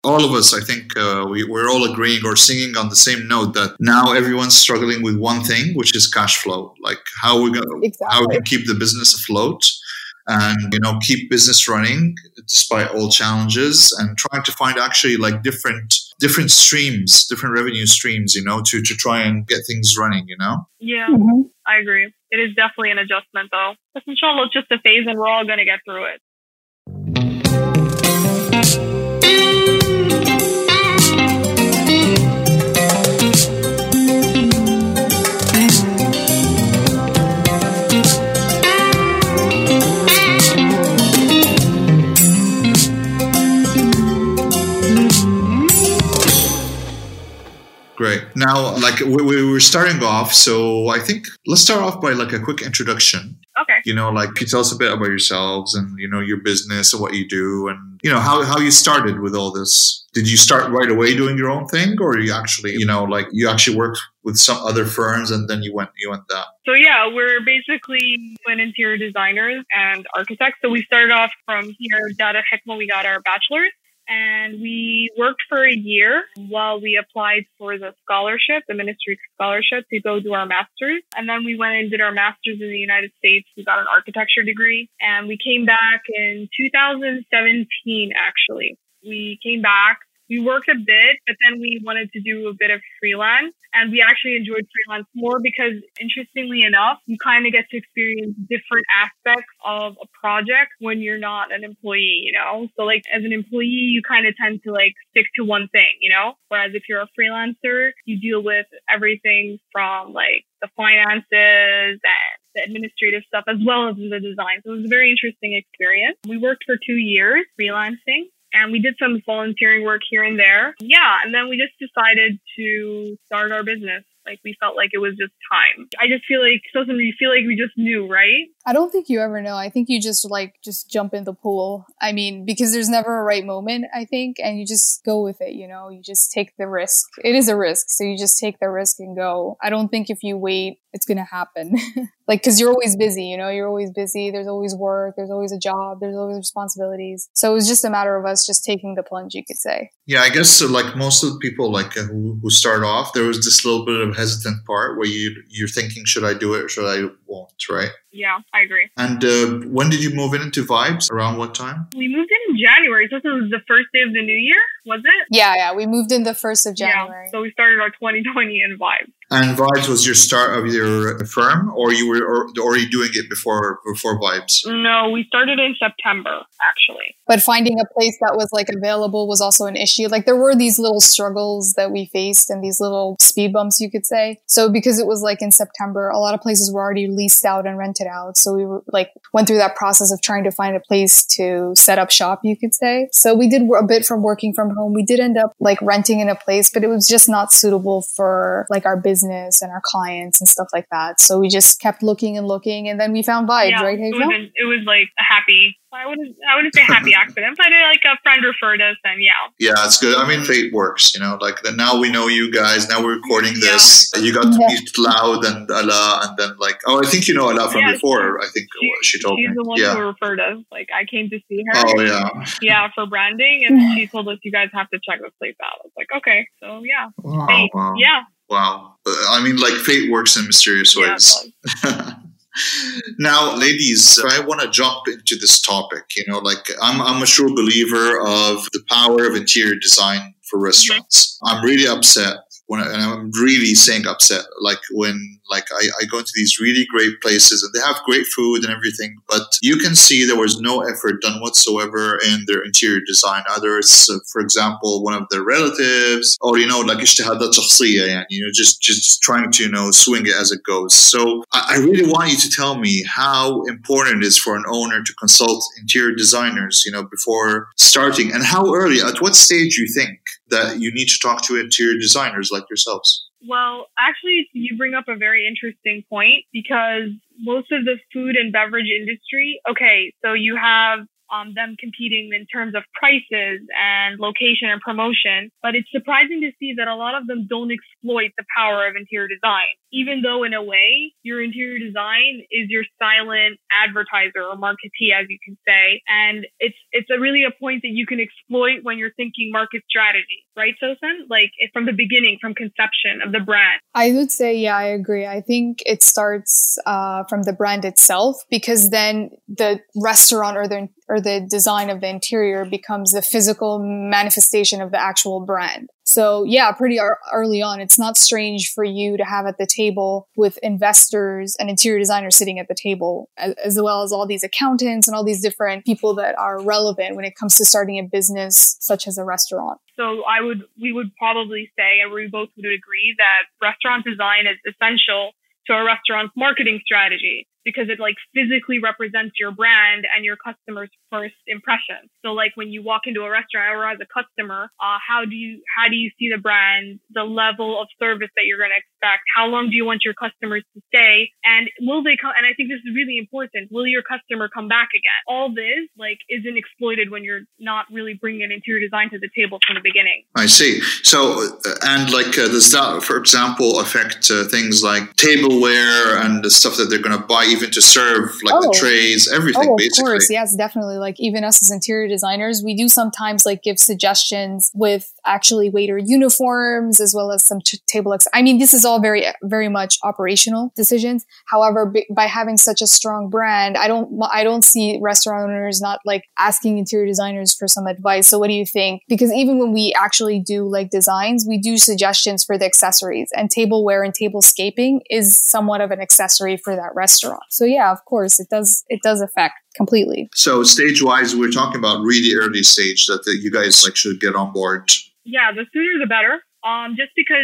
all of us, I think we're all agreeing or singing on the same note that now everyone's struggling with one thing, which is cash flow. Like how how we can keep the business afloat and keep business running despite all challenges, and trying to find actually like different streams, different revenue streams, to try and get things running. Yeah, I agree. It is definitely an adjustment though. But inshallah, it's just a phase and we're all going to get through it. Great. Now, like we were starting off, so I think let's start off by like a quick introduction. Okay. Like can you tell us a bit about yourselves and your business and what you do, and how you started with all this. Did you start right away doing your own thing, or you actually you actually worked with some other firms and then you went that? So yeah, we're basically interior designers and architects. So we started off from here, Data Hikma. We got our bachelor's. And we worked for a year while we applied for the scholarship, the ministry scholarship, to go do our master's. And then we went and did our master's in the United States. We got an architecture degree. And we came back in 2017, actually. We came back. We worked a bit, but then we wanted to do a bit of freelance. And we actually enjoyed freelance more because, interestingly enough, you kind of get to experience different aspects of a project when you're not an employee, So like as an employee, you kind of tend to like stick to one thing, Whereas if you're a freelancer, you deal with everything from like the finances and the administrative stuff as well as the design. So it was a very interesting experience. We worked for 2 years freelancing. And we did some volunteering work here and there. Yeah. And then we just decided to start our business. Like we felt like it was just time. I just feel like, you feel like we just knew, right? I don't think you ever know. I think you just jump in the pool. I mean, because there's never a right moment, I think, and you just go with it, you just take the risk. It is a risk. So you just take the risk and go. I don't think if you wait, it's going to happen. Cause you're always busy, you're always busy. There's always work. There's always a job. There's always responsibilities. So it was just a matter of us just taking the plunge, you could say. Yeah, I guess so, like most of the people who start off, there was this little bit of hesitant part where you're thinking, should I do it or should I won't, right? Yeah, I agree. And when did you move into Vibes? Around what time? We moved in January. So this was the first day of the new year, was it? Yeah. We moved in the 1st of January. Yeah, so we started our 2020 in Vibes. And Vibes was your start of your firm, or you were already doing it before Vibes? No, we started in September, actually. But finding a place that was available was also an issue. There were these little struggles that we faced and these little speed bumps, you could say. So because it was in September, a lot of places were already leased out and rented out. So we were went through that process of trying to find a place to set up shop, you could say. So we did a bit from working from home. We did end up renting in a place, but it was just not suitable for our business and our clients and stuff like that. So we just kept looking and looking, and then we found Vibes, right, Hazel? It was a happy, I wouldn't say happy accident, but a friend referred us, and yeah. Yeah, it's good. I mean, fate works, now we know you guys, now we're recording this. You got to meet Loud and Allah, and then I think you know Allah from before. I think she told me. She's the one who referred us. I came to see her. Oh, yeah. Yeah, for branding, and she told us, you guys have to check this place out. I was like, okay. So, yeah. Wow. Yeah. Wow. I mean, fate works in mysterious ways. Yeah, Now, ladies, I want to jump into this topic. I'm a true believer of the power of interior design for restaurants. Mm-hmm. I'm really upset and I'm really saying upset, when I go into these really great places and they have great food and everything, but you can see there was no effort done whatsoever in their interior design. Either it's, for example, one of their relatives, or اجتهادات شخصية, يعني, just trying to swing it as it goes. So I really want you to tell me how important it is for an owner to consult interior designers, before starting, and how early, at what stage you think that you need to talk to interior designers like yourselves. Well, actually, you bring up a very interesting point, because most of the food and beverage industry, so you have them competing in terms of prices and location and promotion, but it's surprising to see that a lot of them don't exploit the power of interior design. even though in a way your interior design is your silent advertiser or marketee, as you can say. And it's really a point that you can exploit when you're thinking market strategy, right, Sosan? Like from the beginning, from conception of the brand. I would say, yeah, I agree. I think it starts from the brand itself, because then the restaurant or the design of the interior becomes the physical manifestation of the actual brand. So yeah, pretty early on, it's not strange for you to have at the table with investors and interior designers sitting at the table, as well as all these accountants and all these different people that are relevant when it comes to starting a business such as a restaurant. So we would probably say, and we both would agree, that restaurant design is essential to a restaurant's marketing strategy, because it like physically represents your brand and your customer's first impression. So like when you walk into a restaurant or as a customer, how do you see the brand, the level of service that you're going to expect? How long do you want your customers to stay? And will they come? And I think this is really important. Will your customer come back again? All this like isn't exploited when you're not really bringing an interior design to the table from the beginning. I see. So, and like does that, for example, affect things like tableware and the stuff that they're going to buy, even to serve, like the trays, everything, basically? Of course, yes, definitely. Like even us as interior designers, we do sometimes like give suggestions with actually waiter uniforms, as well as some table. I mean, this is all very, very much operational decisions. However, by having such a strong brand, I don't see restaurant owners not like asking interior designers for some advice. So what do you think? Because even when we actually do like designs, we do suggestions for the accessories, and tableware and tablescaping is somewhat of an accessory for that restaurant. So yeah, of course, it does affect completely. So stage-wise, we're talking about really early stage that you guys like should get on board. Yeah, the sooner the better. Just because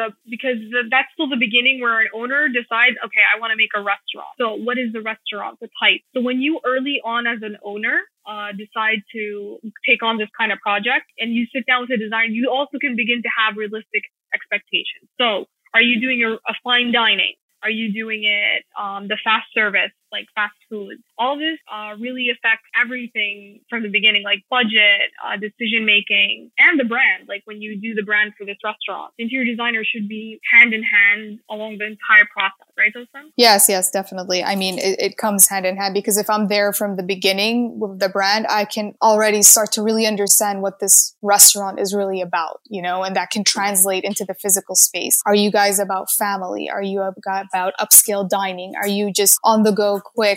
that's still the beginning where an owner decides, okay, I want to make a restaurant. So what is the restaurant, the type? So when you early on as an owner decide to take on this kind of project and you sit down with a designer, you also can begin to have realistic expectations. So are you doing a fine dining? Are you doing it the fast service, like fast food? All this really affects everything from the beginning, like budget, decision making, and the brand. Like when you do the brand for this restaurant, the interior designer should be hand in hand along the entire process, right, Sosan? Yes, definitely. I mean, it comes hand in hand, because if I'm there from the beginning with the brand, I can already start to really understand what this restaurant is really about, and that can translate into the physical space. Are you guys about family? Are you about upscale dining? Are you just on the go quick,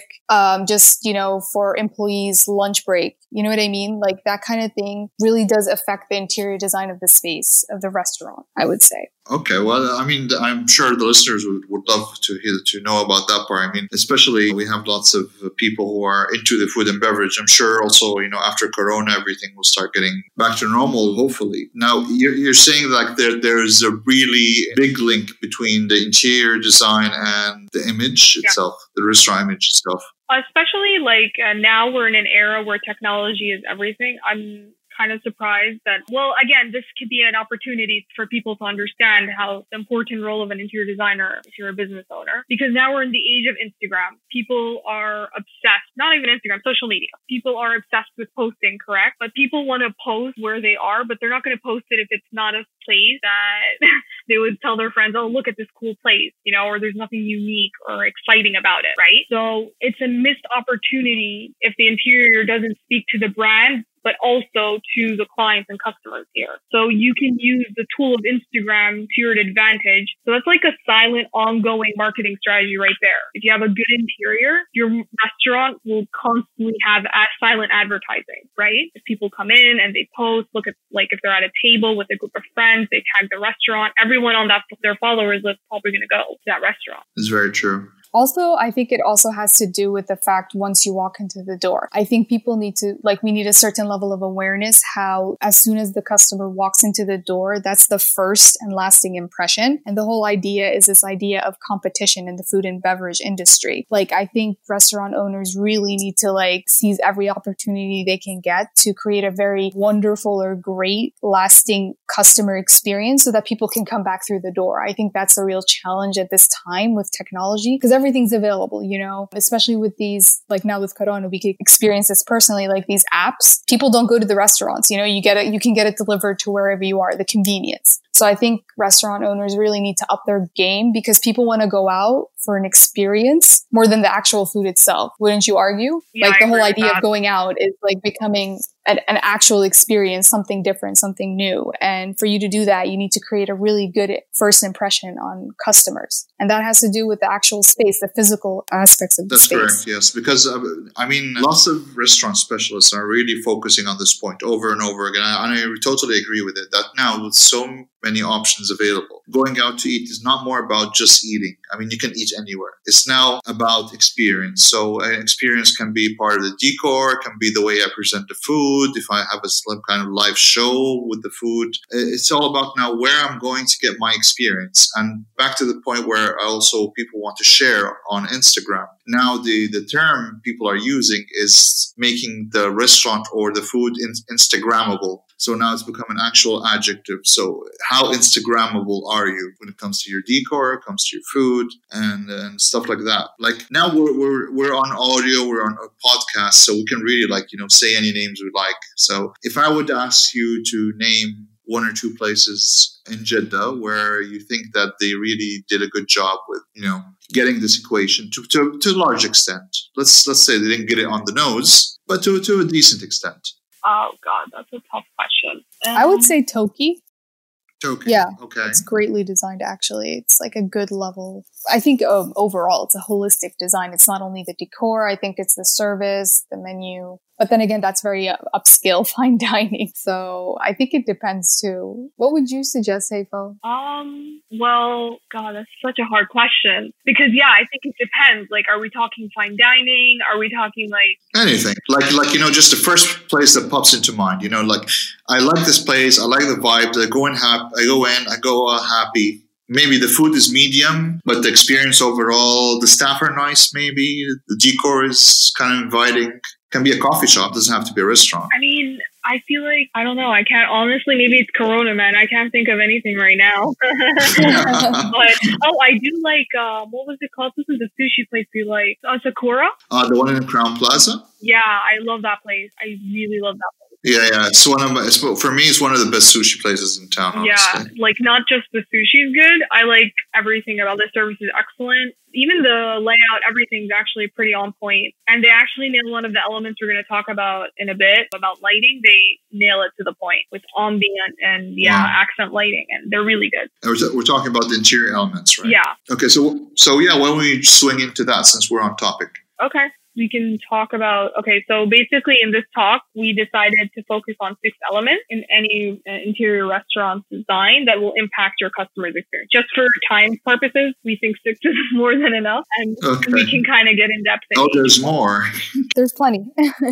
for employees' lunch break? You know what I mean? Like that kind of thing really does affect the interior design of the space of the restaurant, I would say. Okay, well, I mean, I'm sure the listeners would love to know about that part. I mean, especially we have lots of people who are into the food and beverage. I'm sure also, after Corona, everything will start getting back to normal, hopefully. Now, you're saying like there's a really big link between the interior design and the image itself, the restaurant image itself. Especially like now we're in an era where technology is everything. I'm kind of surprised that, well, again, this could be an opportunity for people to understand how the important role of an interior designer if you're a business owner. Because now we're in the age of Instagram. People are obsessed, not even Instagram, social media. People are obsessed with posting, correct? But people want to post where they are, but they're not going to post it if it's not a place that they would tell their friends, oh, look at this cool place, or there's nothing unique or exciting about it, right? So it's a missed opportunity if the interior doesn't speak to the brand, but also to the clients and customers here. So you can use the tool of Instagram to your advantage. So that's like a silent, ongoing marketing strategy right there. If you have a good interior, your restaurant will constantly have silent advertising, right? If people come in and they post, look at, like if they're at a table with a group of friends, they tag the restaurant, everyone on their followers list is probably going to go to that restaurant. It's very true. Also, I think it also has to do with the fact once you walk into the door, I think people need to, we need a certain level of awareness how as soon as the customer walks into the door, that's the first and lasting impression. And the whole idea is this idea of competition in the food and beverage industry. I think restaurant owners really need to seize every opportunity they can get to create a very wonderful or great lasting customer experience so that people can come back through the door. I think that's a real challenge at this time with technology, because everything's available, especially with these, now with Corona, we could experience this personally, these apps. People don't go to the restaurants, you can get it delivered to wherever you are, the convenience. So I think restaurant owners really need to up their game because people want to go out for an experience more than the actual food itself. Wouldn't you argue? Yeah, like the I whole agree idea with of that. going out is like becoming an actual experience, something different, something new. And for you to do that, you need to create a really good first impression on customers. And that has to do with the actual space, the physical aspects of the That's space. correct, yes. Because, lots of restaurant specialists are really focusing on this point over and over again. And I totally agree with it, that now with so many options available, going out to eat is not more about just eating. I mean, you can eat anywhere. It's now about experience. So an experience can be part of the decor, can be the way I present the food, if I have some kind of live show with the food. It's all about now where I'm going to get my experience. And back to the point where also people want to share on Instagram. Now the term people are using is making the restaurant or the food Instagrammable. So now it's become an actual adjective. So how Instagrammable are you when it comes to your decor, comes to your food, and stuff like that? Like now we're on audio, we're on a podcast, so we can really say any names we like. So if I would ask you to name one or two places in Jeddah where you think that they really did a good job with, getting this equation to a large extent. Let's say they didn't get it on the nose, but to a decent extent. Oh God, that's a tough question. I would say Toki. Toki. Yeah. Okay. It's greatly designed, actually. It's like a good level. I think overall, it's a holistic design. It's not only the decor. I think it's the service, the menu. But then again, that's very upscale fine dining. So I think it depends too. What would you suggest, Heifo? Well, God, that's such a hard question. Because, yeah, I think it depends. Like, are we talking fine dining? Are we talking anything? Like just the first place that pops into mind. I like this place. I like the vibe. I go in happy. Maybe the food is medium, but the experience overall, the staff are nice. Maybe the decor is kind of inviting. Can be a coffee shop. Doesn't have to be a restaurant. I mean, I feel like, I don't know. I can't, honestly, maybe it's Corona, man. I can't think of anything right now. But, I do like, what was it called? This is a sushi place we like. Sakura? The one in Crown Plaza? Yeah, I love that place. I really love that place. Yeah. For me, it's one of the best sushi places in town, honestly. Yeah, not just the sushi is good. I like everything about the service is excellent. Even the layout, everything's actually pretty on point. And they actually nail one of the elements we're going to talk about in a bit, about lighting. They nail it to the point with ambient and, accent lighting. And they're really good. We're talking about the interior elements, right? Yeah. Okay, so why don't we swing into that since we're on topic? Okay. We can talk about, so basically in this talk, we decided to focus on 6 elements in any interior restaurant design that will impact your customer's experience. Just for time purposes, we think 6 is more than enough, and we can kind of get in depth. There's more. There's plenty.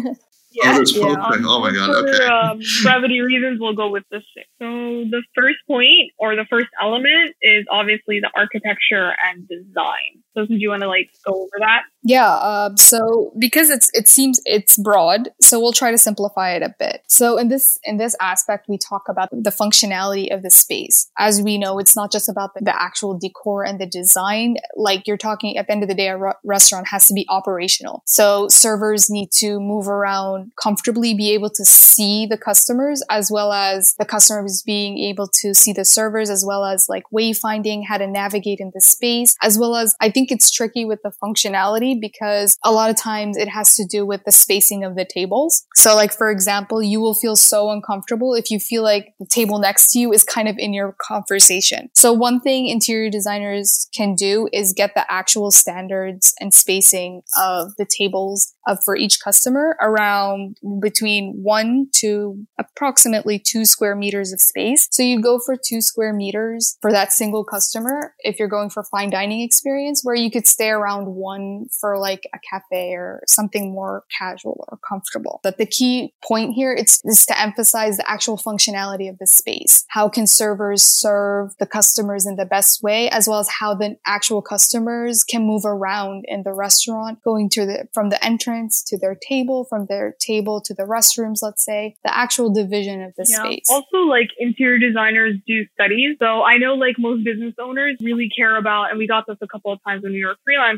Yeah. Oh my God. Okay. For brevity reasons, we'll go with the 6. So the first point or the first element is obviously the architecture and design. So do you want to go over that? Yeah. So because it seems it's broad, so we'll try to simplify it a bit. So in this aspect, we talk about the functionality of the space. As we know, it's not just about the actual decor and the design. Like you're talking at the end of the day, a restaurant has to be operational. So servers need to move around comfortably, be able to see the customers, as well as the customers being able to see the servers, as well as wayfinding, how to navigate in the space, as well as I think it's tricky with the functionality because a lot of times it has to do with the spacing of the tables. So for example, you will feel so uncomfortable if you feel like the table next to you is kind of in your conversation. So one thing interior designers can do is get the actual standards and spacing of the tables for each customer around between 1 to approximately 2 square meters of space. So you go for 2 square meters for that single customer if you're going for fine dining experience, where you could stay around 1 for a cafe or something more casual or comfortable. But the key point here is to emphasize the actual functionality of the space. How can servers serve the customers in the best way, as well as how the actual customers can move around in the restaurant, going from the entrance to their table, from their table to the restrooms, let's say, the actual division of the space. Also, interior designers do studies. So I know most business owners really care about, and we got this a couple of times when we were freelancing,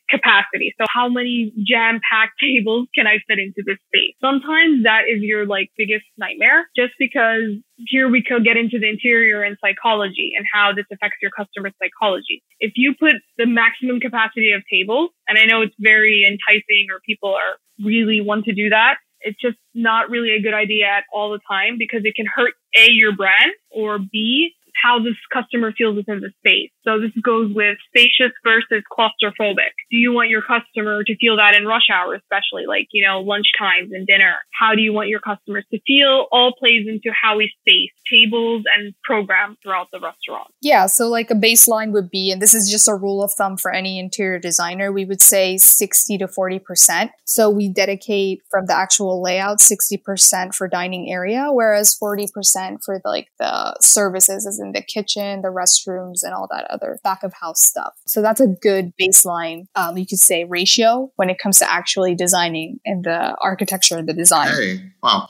capacity. So how many jam-packed tables can I fit into this space? Sometimes that is your like biggest nightmare, just because here we could get into the interior and psychology and how this affects your customer psychology. If you put the maximum capacity of tables, and I know it's very enticing or people are really want to do that, it's just not really a good idea at all the time, because it can hurt A, your brand, or B, how this customer feels within the space. So this goes with spacious versus claustrophobic. Do you want your customer to feel that in rush hour, especially like, lunch times and dinner? How do you want your customers to feel? All plays into how we space tables and program throughout the restaurant. Yeah, so like a baseline would be, and this is just a rule of thumb for any interior designer, we would say 60 to 40%. So we dedicate from the actual layout 60% for dining area, whereas 40% for the services, as in the kitchen, the restrooms, and all that other back of house stuff. So that's a good baseline, you could say, ratio when it comes to actually designing and the architecture and the design. Hey, wow.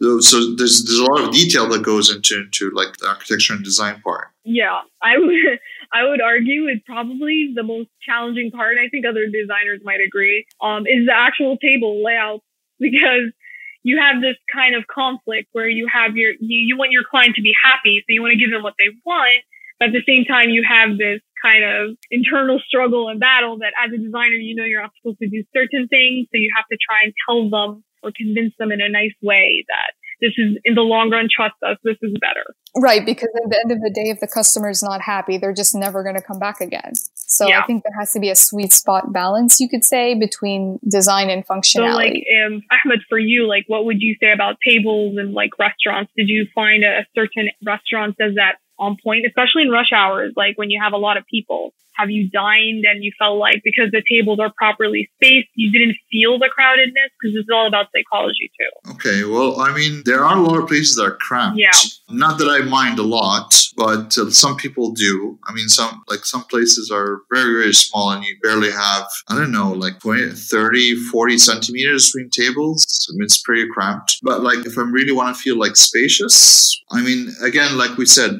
So there's a lot of detail that goes into like the architecture and design part. Yeah, I would argue it's probably the most challenging part. I think other designers might agree. Is the actual table layout, because you have this kind of conflict where you have you want your client to be happy, so you want to give them what they want, but at the same time you have this kind of internal struggle and battle that as a designer, you're not supposed to do certain things, so you have to try and tell them or convince them in a nice way that this is, in the long run, trust us, this is better. Right, because at the end of the day, if the customer is not happy, they're just never going to come back again. So yeah. I think there has to be a sweet spot balance, you could say, between design and functionality. So Ahmed, for you, what would you say about tables and restaurants? Did you find a certain restaurant does that on point, especially in rush hours, when you have a lot of people? Have you dined and you felt like because the tables are properly spaced, you didn't feel the crowdedness? Because it's all about psychology too. Okay, well, I mean, there are a lot of places that are cramped. Yeah. Not that I mind a lot, but some people do. I mean, some places are very, very small and you barely have, 20, 30, 40 centimeters between tables. I mean, it's pretty cramped. But if I really want to feel spacious, I mean, again, like we said,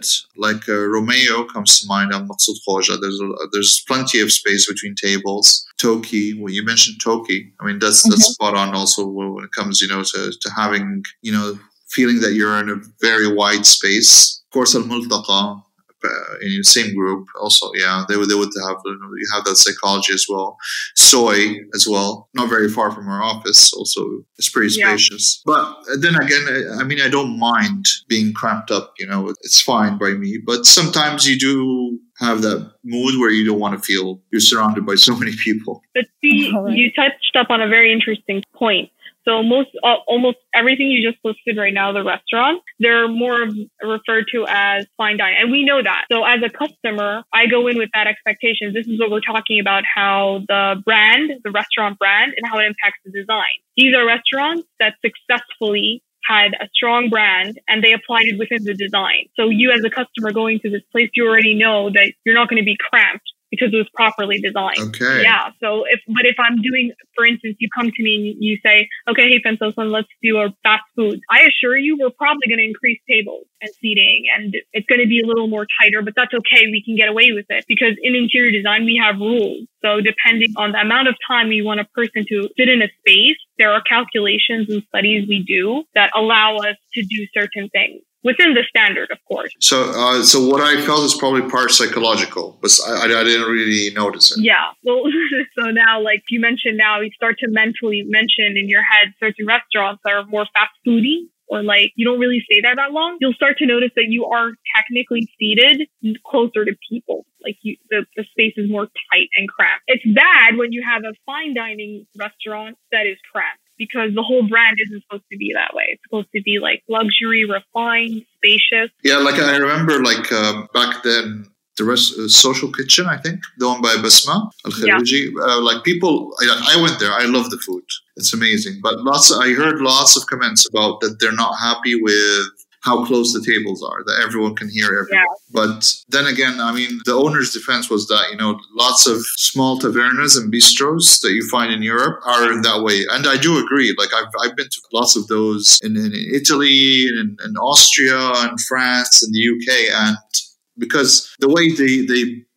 Romeo comes to mind on Maqsoud Khoja. There's plenty of space between tables. Toki, well, you mentioned Toki. I mean, that's spot on also when it comes, to having, feeling that you're in a very wide space. Of course, Al-Multaqa, in the same group also, yeah, they would have, you have that psychology as well. Soy as well, not very far from our office, also it's pretty spacious. Yeah. But then again, I mean, I don't mind being cramped up, it's fine by me. But sometimes you do have that mood where you don't want to feel you're surrounded by so many people. But see, you touched up on a very interesting point. So almost everything you just listed right now, the restaurant, they're more referred to as fine dining. And we know that. So as a customer, I go in with that expectation. This is what we're talking about, how the restaurant brand, and how it impacts the design. These are restaurants that successfully had a strong brand and they applied it within the design. So you as a customer going to this place, you already know that you're not going to be cramped because it was properly designed. Okay. Yeah. So if I'm doing, for instance, you come to me and you say, okay, hey, Fensosan, let's do a fast food. I assure you, we're probably going to increase tables and seating, and it's going to be a little more tighter, but that's okay. We can get away with it because in interior design, we have rules. So depending on the amount of time we want a person to sit in a space, there are calculations and studies we do that allow us to do certain things. Within the standard, of course. So what I felt is probably part psychological, but I didn't really notice it. Yeah. Well, so now, you mentioned, now you start to mentally mention in your head certain restaurants that are more fast foodie, or you don't really stay there that long. You'll start to notice that you are technically seated closer to people. The space is more tight and cramped. It's bad when you have a fine dining restaurant that is cramped, because the whole brand isn't supposed to be that way. It's supposed to be luxury, refined, spacious. Yeah, I remember back then, the Social Kitchen, I think, the one by Basma Al-Khariji. Yeah. People, I went there. I love the food. It's amazing. But I heard lots of comments about that they're not happy with how close the tables are, that everyone can hear everyone. Yeah. But then again, I mean, the owner's defense was that, lots of small tavernas and bistros that you find in Europe are in that way. And I do agree. I've been to lots of those in Italy, in Austria, and France, and the UK. And because the way they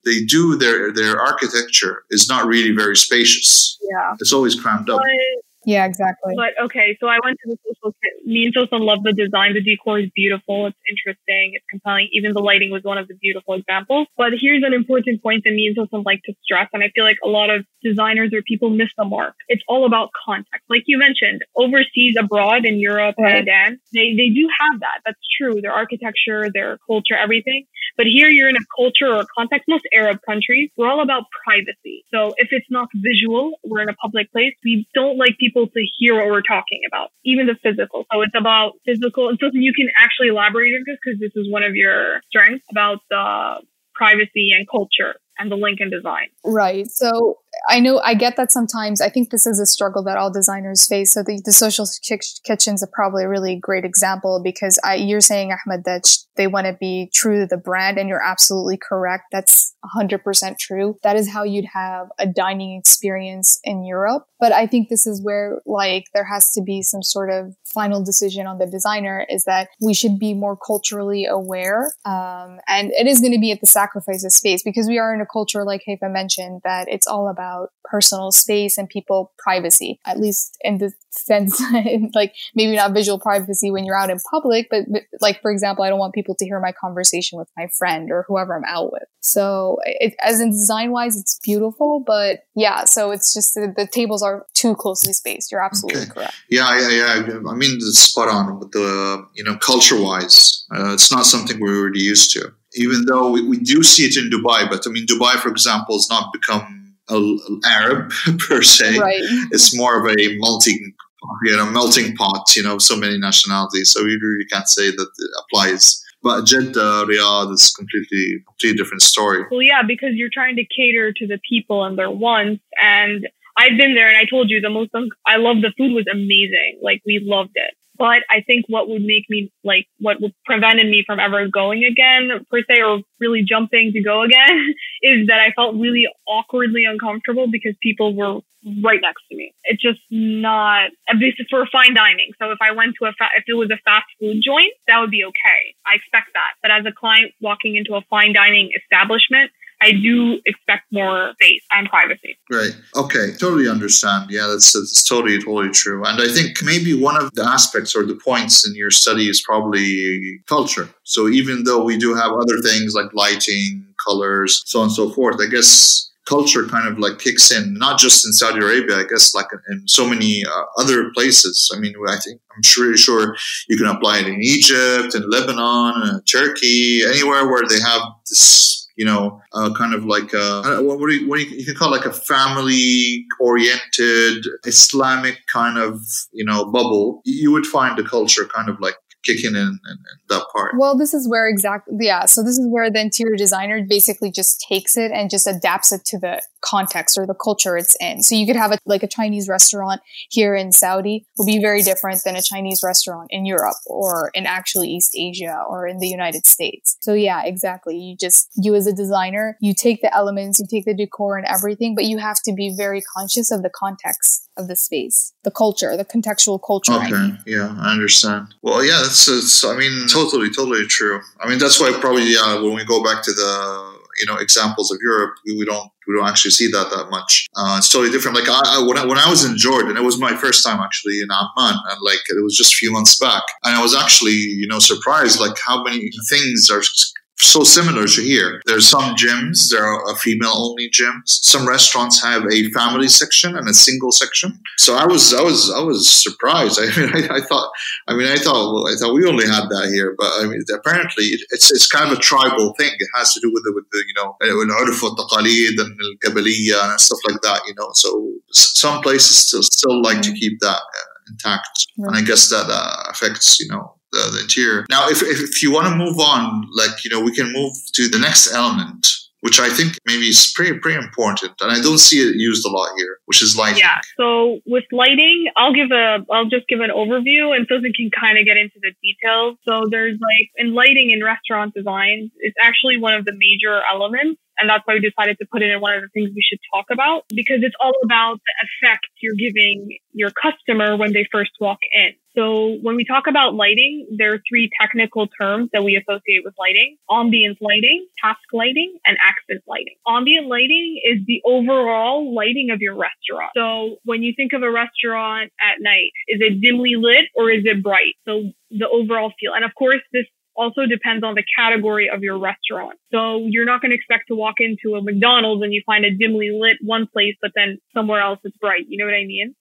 they do their architecture is not really very spacious. Yeah. It's always crammed up. Yeah, exactly. But okay, so I went to the social kit. Me and Sosan love the design. The decor is beautiful. It's interesting. It's compelling. Even the lighting was one of the beautiful examples. But here's an important point that me and Sosan like to stress, and I feel like a lot of designers or people miss the mark. It's all about context. Like you mentioned, overseas, abroad, in Europe, and they do have that. That's true. Their architecture, their culture, everything. But here you're in a culture or a context, most Arab countries, we're all about privacy. So if it's not visual, we're in a public place, we don't like people to hear what we're talking about, even the physical. So it's about physical. And so you can actually elaborate on this because this is one of your strengths about the privacy and culture and the link and design. Right. So I get that sometimes. I think this is a struggle that all designers face. So the social kitchens are probably a really great example because you're saying, Ahmed, that they want to be true to the brand, and you're absolutely correct. That's 100% true. That is how you'd have a dining experience in Europe. But I think this is where there has to be some sort of final decision on the designer, is that we should be more culturally aware. And it is going to be at the sacrifice of space, because we are in a culture, like Haifa mentioned, that it's all about personal space and people privacy, at least in the sense, maybe not visual privacy when you're out in public, but for example, I don't want people to hear my conversation with my friend or whoever I'm out with. So as in design wise, it's beautiful, but yeah, so it's just the tables are too closely spaced. You're absolutely correct. Yeah. I mean, it's spot on with the, culture wise, it's not something we're already used to, even though we do see it in Dubai. But I mean, Dubai, for example, has not become Arab per se. Right. It's more of a melting pot, so many nationalities. So you really can't say that it applies. But Jeddah, Riyadh is completely different story. Well, yeah, because you're trying to cater to the people and their wants. And I've been there, and I told you I love the food was amazing. We loved it. But I think what would make me, what would prevented me from ever going again, per se, or really jumping to go again, is that I felt really awkwardly uncomfortable because people were right next to me. It's just not, this is for fine dining. So if I went to if it was a fast food joint, that would be okay. I expect that. But as a client walking into a fine dining establishment, I do expect more space and privacy. Right. Okay. Totally understand. Yeah, that's totally true. And I think maybe one of the aspects or the points in your study is probably culture. So even though we do have other things like lighting, colors, so on and so forth, I guess culture kind of kicks in, not just in Saudi Arabia, I guess in so many other places. I mean, I'm sure you can apply it in Egypt, in Lebanon, Turkey, anywhere where they have this, kind of what you can call a family oriented Islamic kind of, bubble. You would find the culture kind of kicking in that part. Well, this is where so this is where the interior designer basically just takes it and just adapts it to the context or the culture it's in. So you could have a Chinese restaurant here in Saudi will be very different than a Chinese restaurant in Europe or in actually East Asia or in the United States. So yeah, exactly. You as a designer, you take the elements, you take the decor and everything, but you have to be very conscious of the context of the space, the culture, the contextual culture. Okay. Yeah, I understand. Well, yeah, totally true. I mean, that's why probably, when we go back to the, examples of Europe, we don't actually see that much. It's totally different. When I was in Jordan, it was my first time actually in Amman, and it was just a few months back, and I was actually, surprised how many things are so similar to here. There's some gyms, there are female-only gyms. Some restaurants have a family section and a single section. So I was surprised. I thought we only had that here, but apparently it's kind of a tribal thing. It has to do with the العرف والتقاليد and القبلية and stuff like that. So some places still like to keep that intact, and I guess that affects the interior. Now, if you want to move on, we can move to the next element, which I think maybe is pretty important, and I don't see it used a lot here, which is lighting. Yeah. So with lighting, I'll just give an overview, and Susan can kind of get into the details. So there's in lighting in restaurant designs, it's actually one of the major elements. And that's why we decided to put it in one of the things we should talk about, because it's all about the effect you're giving your customer when they first walk in. So when we talk about lighting, there are three technical terms that we associate with lighting: ambient lighting, task lighting, and accent lighting. Ambient lighting is the overall lighting of your restaurant. So when you think of a restaurant at night, is it dimly lit or is it bright? So the overall feel. And of course, this also depends on the category of your restaurant. So you're not going to expect to walk into a McDonald's and you find a dimly lit one place, but then somewhere else it's bright. You know what I mean?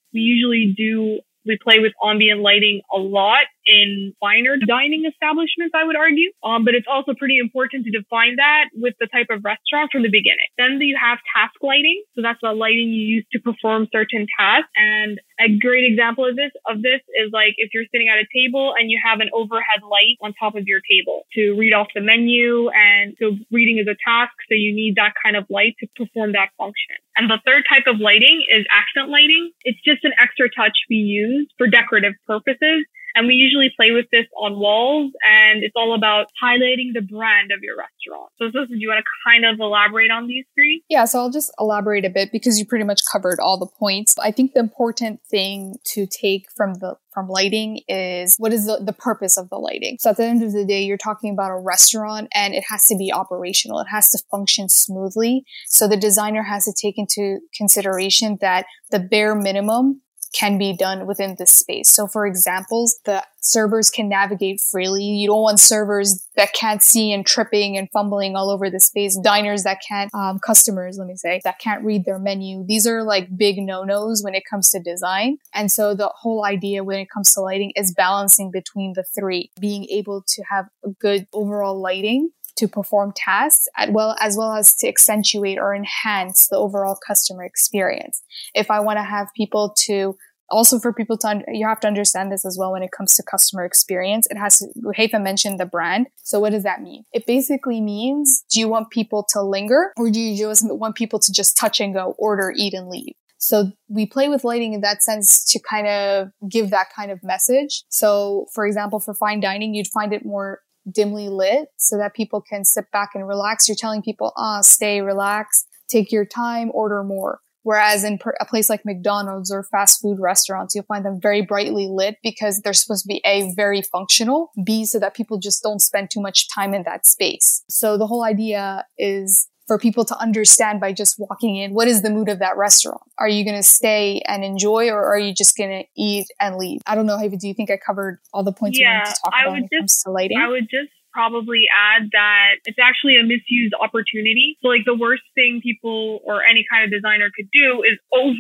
We play with ambient lighting a lot in finer dining establishments, I would argue. But it's also pretty important to define that with the type of restaurant from the beginning. Then you have task lighting. So that's the lighting you use to perform certain tasks. And a great example of this is like if you're sitting at a table and you have an overhead light on top of your table to read off the menu. And so reading is a task. So you need that kind of light to perform that function. And the third type of lighting is accent lighting. It's just an extra touch we use for decorative purposes. And we usually play with this on walls, and it's all about highlighting the brand of your restaurant. So, do you want to kind of elaborate on these three? Yeah, so I'll just elaborate a bit because you pretty much covered all the points. I think the important thing to take from lighting is what is the purpose of the lighting. So at the end of the day, you're talking about a restaurant and it has to be operational. It has to function smoothly. So the designer has to take into consideration that the bare minimum can be done within this space. So for examples, the servers can navigate freely. You don't want servers that can't see and tripping and fumbling all over the space. Diners that can't, customers, let me say, that can't read their menu. These are like big no-nos when it comes to design. And so the whole idea when it comes to lighting is balancing between the three, being able to have a good overall lighting to perform tasks as well as to accentuate or enhance the overall customer experience. If I want to have people to also for people to, you have to understand this as well when it comes to customer experience. It has to, Haifa mentioned the brand. So what does that mean? It basically means, do you want people to linger or do you just want people to just touch and go, order, eat and leave? So we play with lighting in that sense to kind of give that kind of message. So for example, for fine dining, you'd find it more dimly lit so that people can sit back and relax. You're telling people, stay, relax, take your time, order more. Whereas in a place like McDonald's or fast food restaurants, you'll find them very brightly lit because they're supposed to be A, very functional, B, so that people just don't spend too much time in that space. So the whole idea is for people to understand by just walking in, what is the mood of that restaurant? Are you going to stay and enjoy, or are you just going to eat and leave? I don't know, Haifa, do you think I covered all the points we wanted to talk about when it comes to lighting? I would just probably add that it's actually a misused opportunity. So like the worst thing people or any kind of designer could do is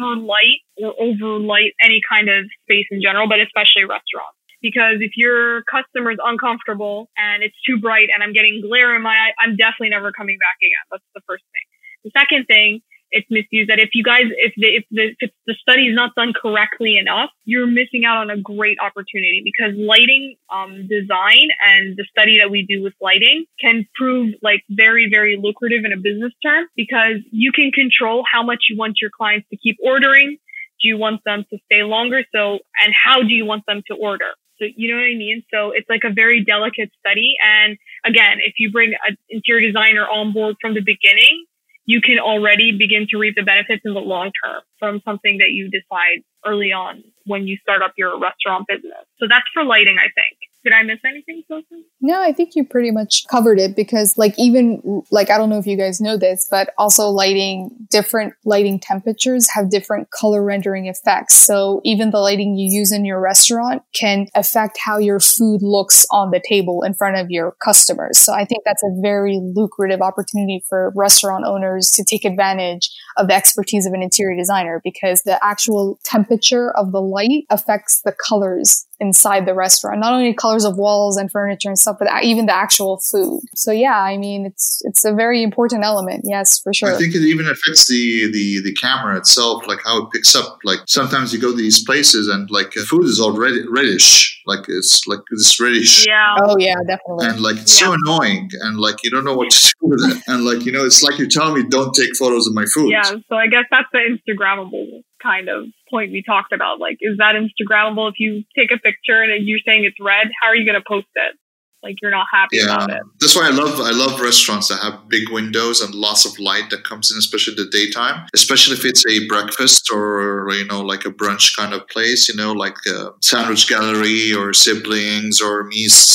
overlight any kind of space in general, but especially restaurants. Because if your customer's uncomfortable and it's too bright and I'm getting glare in my eye, I'm definitely never coming back again. That's the first thing. The second thing, it's misused that if the study is not done correctly enough, you're missing out on a great opportunity, because lighting design and the study that we do with lighting can prove like very, very lucrative in a business term, because you can control how much you want your clients to keep ordering. Do you want them to stay longer? And how do you want them to order? So you know what I mean? So it's like a very delicate study. And again, if you bring an interior designer on board from the beginning, you can already begin to reap the benefits in the long term from something that you decide early on when you start up your restaurant business. So that's for lighting, I think. Did I miss anything, Sophie? No, I think you pretty much covered it, because I don't know if you guys know this, but also different lighting temperatures have different color rendering effects. So even the lighting you use in your restaurant can affect how your food looks on the table in front of your customers. So I think that's a very lucrative opportunity for restaurant owners to take advantage of the expertise of an interior designer, because the actual temperature of the light affects the colors inside the restaurant, not only colors of walls and furniture and stuff, but even the actual food. So yeah, I mean, it's a very important element. Yes, for sure. I think it even affects the camera itself, like how it picks up. Like sometimes you go to these places and like food is already reddish, like it's like this reddish. Yeah. Oh yeah, definitely. And like it's so annoying, and like you don't know what to do with it. And like, you know, it's like you're telling me don't take photos of my food. Yeah. So I guess that's the Instagrammable kind of point we talked about. Like, is that Instagrammable? If you take a picture and you're saying it's red, how are you going to post it? Like you're not happy about it. That's why I love restaurants that have big windows and lots of light that comes in, especially the daytime, especially if it's a breakfast or, like a brunch kind of place, like Sandwich Gallery or Siblings or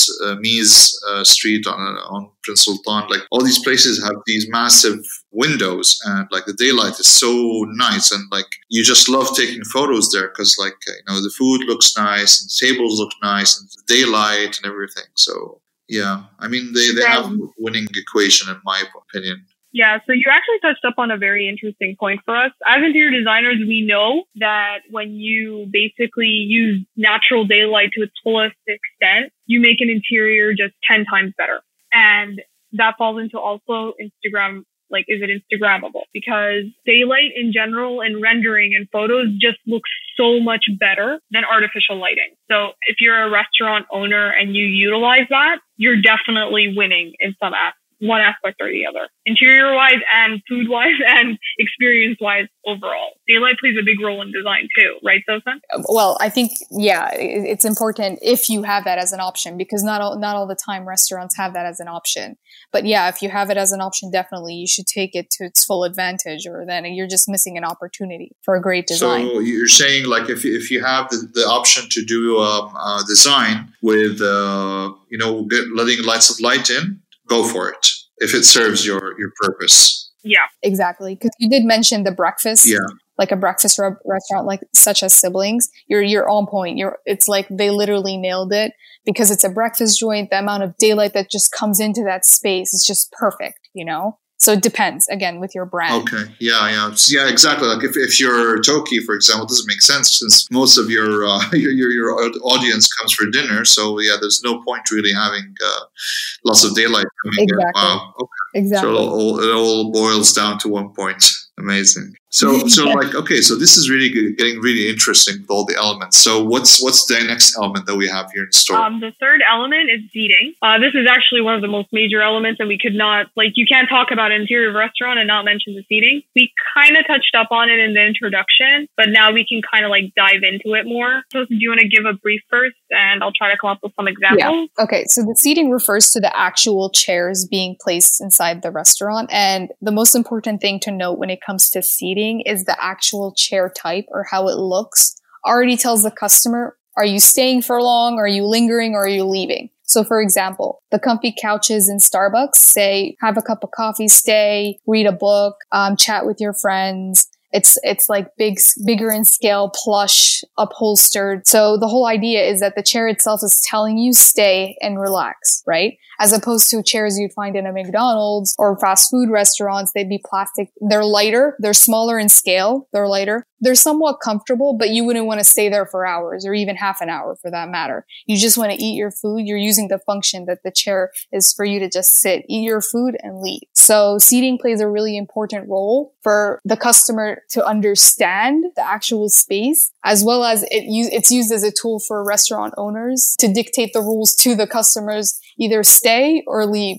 Mies Street on Prince Sultan. Like all these places have these massive windows, and like the daylight is so nice, and like you just love taking photos there because like the food looks nice and the tables look nice and the daylight and everything. So yeah, I mean they have a winning equation in my opinion. Yeah, so you actually touched up on a very interesting point for us. As interior designers, we know that when you basically use natural daylight to its fullest extent, you make an interior just 10 times better. And that falls into also Instagram. Like, is it Instagrammable? Because daylight in general and rendering and photos just looks so much better than artificial lighting. So if you're a restaurant owner and you utilize that, you're definitely winning in one aspect or the other, interior-wise and food-wise and experience-wise overall. Daylight plays a big role in design too, right, Sosan? Well, I think, yeah, it's important if you have that as an option, because not all the time restaurants have that as an option. But yeah, if you have it as an option, definitely you should take it to its full advantage, or then you're just missing an opportunity for a great design. So you're saying like if you have the option to do design with, letting lots of light in, go for it if it serves your purpose. Yeah, exactly. Because you did mention the breakfast, like a breakfast restaurant, like such as Siblings. You're on point. It's like they literally nailed it because it's a breakfast joint. The amount of daylight that just comes into that space is just perfect. So it depends, again, with your brand. Okay. Yeah, exactly. Like if you're Toki, for example, it doesn't make sense since most of your audience comes for dinner. So yeah, there's no point really having lots of daylight coming in. Wow. Okay. Exactly. So it all boils down to one point. Amazing. So like, okay, so this is really getting really interesting with all the elements. So what's the next element that we have here in store? The third element is seating. This is actually one of the most major elements, and we could not, you can't talk about an interior restaurant and not mention the seating. We kind of touched up on it in the introduction, but now we can kind of dive into it more. So do you want to give a brief first, and I'll try to come up with some examples? Yeah. Okay, so the seating refers to the actual chairs being placed inside the restaurant, and the most important thing to note when it comes to seating is the actual chair type or how it looks already tells the customer, are you staying for long? Are you lingering? Or are you leaving? So for example, the comfy couches in Starbucks say, have a cup of coffee, stay, read a book, chat with your friends. It's like bigger in scale, plush, upholstered. So the whole idea is that the chair itself is telling you stay and relax, right? As opposed to chairs you'd find in a McDonald's or fast food restaurants, they'd be plastic. They're lighter. They're smaller in scale. They're lighter. They're somewhat comfortable, but you wouldn't want to stay there for hours or even half an hour for that matter. You just want to eat your food. You're using the function that the chair is for you to just sit, eat your food and leave. So seating plays a really important role for the customer to understand the actual space, as well as it's used as a tool for restaurant owners to dictate the rules to the customers, either stay or leave,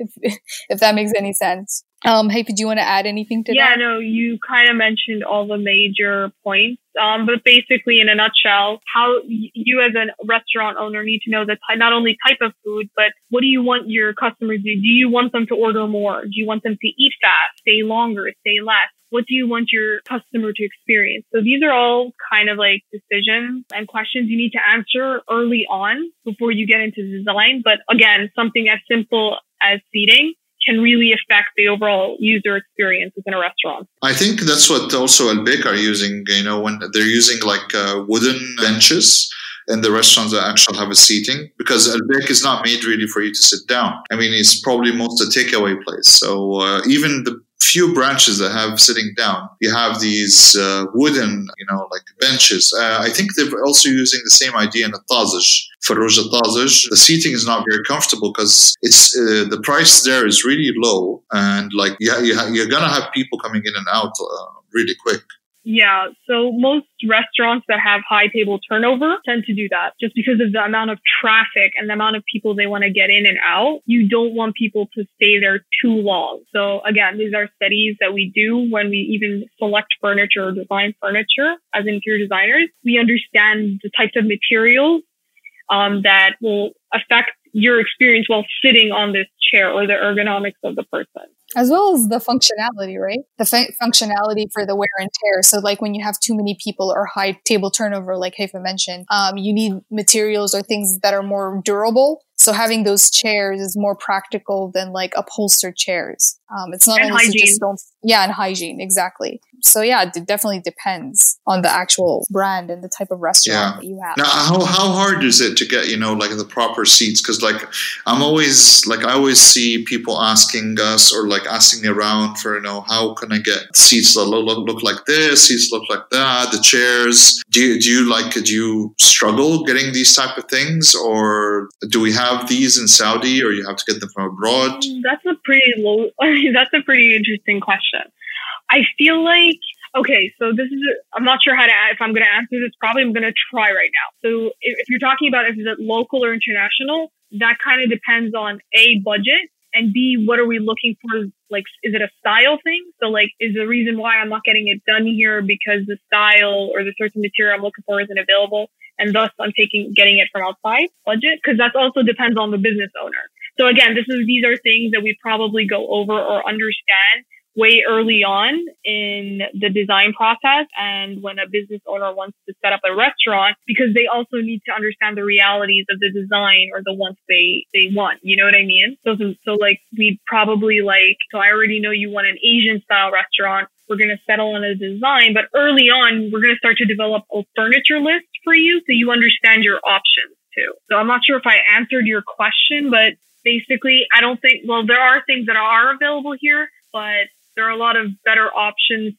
if that makes any sense. Hey, do you want to add anything to that? Yeah, no, you kind of mentioned all the major points. But basically, in a nutshell, how you as a restaurant owner need to know not only type of food, but what do you want your customers to do? Do you want them to order more? Do you want them to eat fast, stay longer, stay less? What do you want your customer to experience? So these are all kind of decisions and questions you need to answer early on before you get into design. But again, something as simple as seating can really affect the overall user experience within a restaurant. I think that's what also Albek are using, when they're using wooden benches in the restaurants that actually have a seating, because Albek is not made really for you to sit down. I mean, it's probably most a takeaway place. So even the few branches that have sitting down, you have these wooden, benches. I think they're also using the same idea in the Tazij. For Roja Tazij, the seating is not very comfortable because it's the price there is really low, and you're gonna have people coming in and out really quick. Yeah, so most restaurants that have high table turnover tend to do that just because of the amount of traffic and the amount of people they want to get in and out. You don't want people to stay there too long. So again, these are studies that we do when we even select furniture or design furniture as interior designers. We understand the types of materials that will affect your experience while sitting on this chair or the ergonomics of the person. As well as the functionality, right? The functionality for the wear and tear. So like when you have too many people or high table turnover, like Haifa mentioned, you need materials or things that are more durable. So having those chairs is more practical than like upholstered chairs. It's not and only hygiene. and hygiene, exactly. So yeah, it definitely depends on the actual brand and the type of restaurant that you have. Now, how hard is it to get, like the proper seats? Because like I always see people asking us or like asking around for, how can I get seats that look like this, seats look like that, the chairs. Do you struggle getting these type of things, or do we have these in Saudi, or you have to get them from abroad? That's a pretty interesting question. I feel like, okay, so I'm not sure if I'm going to answer this. Probably I'm going to try right now. So if you're talking about if it's local or international, that kind of depends on A, budget, and B, what are we looking for? Like, is it a style thing? So like, is the reason why I'm not getting it done here because the style or the certain material I'm looking for isn't available, and thus I'm getting it from outside budget? Because that also depends on the business owner. So again, these are things that we probably go over or understand way early on in the design process, and when a business owner wants to set up a restaurant, because they also need to understand the realities of the design or the wants they want. You know what I mean? So like we probably so I already know you want an Asian style restaurant. We're going to settle on a design, but early on, we're going to start to develop a furniture list for you so you understand your options too. So I'm not sure if I answered your question, but basically, there are things that are available here, but there are a lot of better options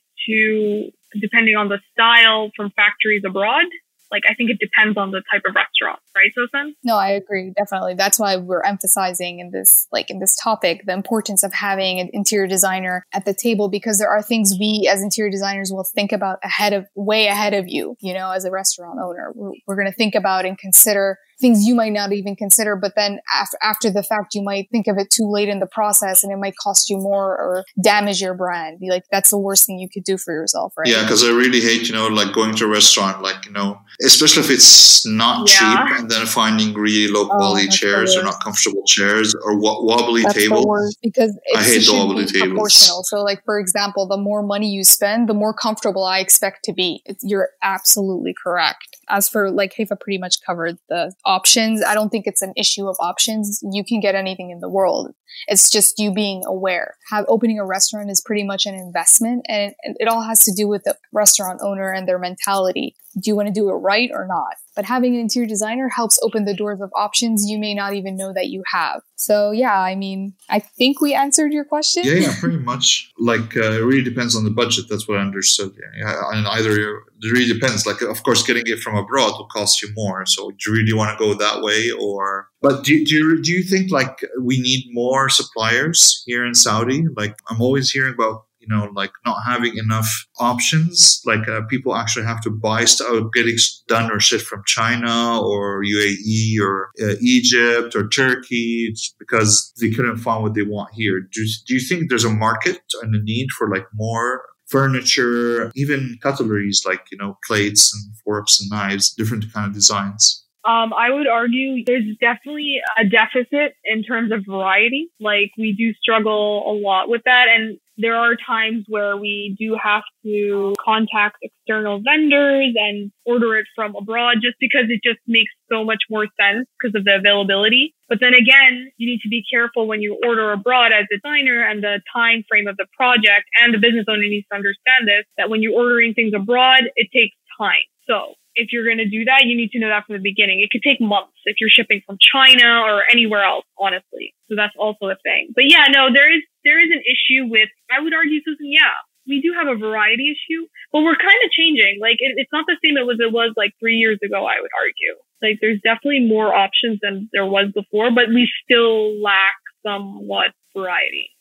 depending on the style from factories abroad. Like, I think it depends on the type of restaurant, right, Sosan? No, I agree. Definitely. That's why we're emphasizing in this topic, the importance of having an interior designer at the table, because there are things we as interior designers will think about way ahead of you, as a restaurant owner. We're going to think about and consider things you might not even consider, but then after the fact, you might think of it too late in the process and it might cost you more or damage your brand. That's the worst thing you could do for yourself, right? Yeah, because I really hate, like going to a restaurant, especially if it's not cheap, and then finding really low quality chairs or not comfortable chairs or wobbly tables. Because I hate the wobbly tables. Proportional. So like, for example, the more money you spend, the more comfortable I expect to be. You're absolutely correct. As for Haifa pretty much covered the options. I don't think it's an issue of options. You can get anything in the world. It's just you being aware. Opening a restaurant is pretty much an investment, and it all has to do with the restaurant owner and their mentality. Do you want to do it right or not? But having an interior designer helps open the doors of options you may not even know that you have. So yeah, I think we answered your question. Yeah, pretty much. It really depends on the budget. That's what I understood. Yeah, and it really depends. Of course, getting it from abroad will cost you more. So do you really want to go that way, or? But do you think we need more suppliers here in Saudi? I'm always hearing about not having enough options. People actually have to buy stuff, getting done or shipped from China or UAE or Egypt or Turkey because they couldn't find what they want here. Do you think there's a market and a need for more furniture, even cutleries, plates and forks and knives, different kind of designs? I would argue there's definitely a deficit in terms of variety. We do struggle a lot with that. And there are times where we do have to contact external vendors and order it from abroad just because it just makes so much more sense because of the availability. But then again, you need to be careful when you order abroad as a designer and the time frame of the project, and the business owner needs to understand this, that when you're ordering things abroad, it takes time. So if you're going to do that, you need to know that from the beginning. It could take months if you're shipping from China or anywhere else, honestly. So that's also a thing. But yeah, no, there is an issue with, I would argue, Susan, we do have a variety issue, but we're kind of changing. It's not the same as it was 3 years ago, I would argue. There's definitely more options than there was before, but we still lack somewhat variety.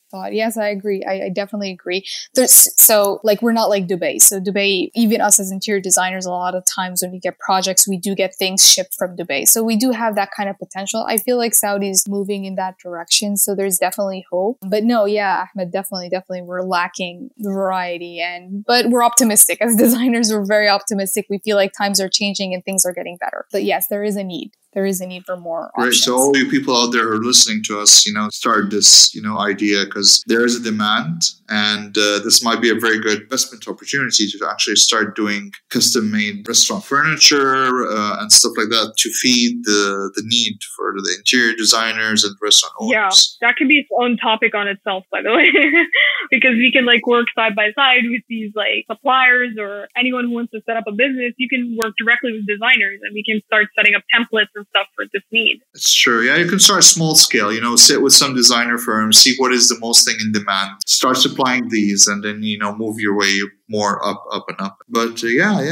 thought. Yes, I agree. I definitely agree. So like, we're not like Dubai. So Dubai, even us as interior designers, a lot of times when we get projects, we do get things shipped from Dubai. So we do have that kind of potential. I feel like Saudi is moving in that direction. So there's definitely hope. But no, yeah, Ahmed, definitely, we're lacking variety, but we're optimistic as designers. We're very optimistic. We feel like times are changing and things are getting better. But yes, there is a need. There is a need for more options. Great. So all you people out there who are listening to us, start this, idea, because there is a demand, and this might be a very good investment opportunity to actually start doing custom-made restaurant furniture and stuff like that to feed the need for the interior designers and restaurant owners. Yeah, that could be its own topic on itself, by the way, because we can work side by side with these suppliers or anyone who wants to set up a business. You can work directly with designers, and we can start setting up templates and stuff for this need. It's true. Yeah, you can start small scale, sit with some designer firms, see what is the most thing in demand, start supplying these, and then, move your way more up and up. But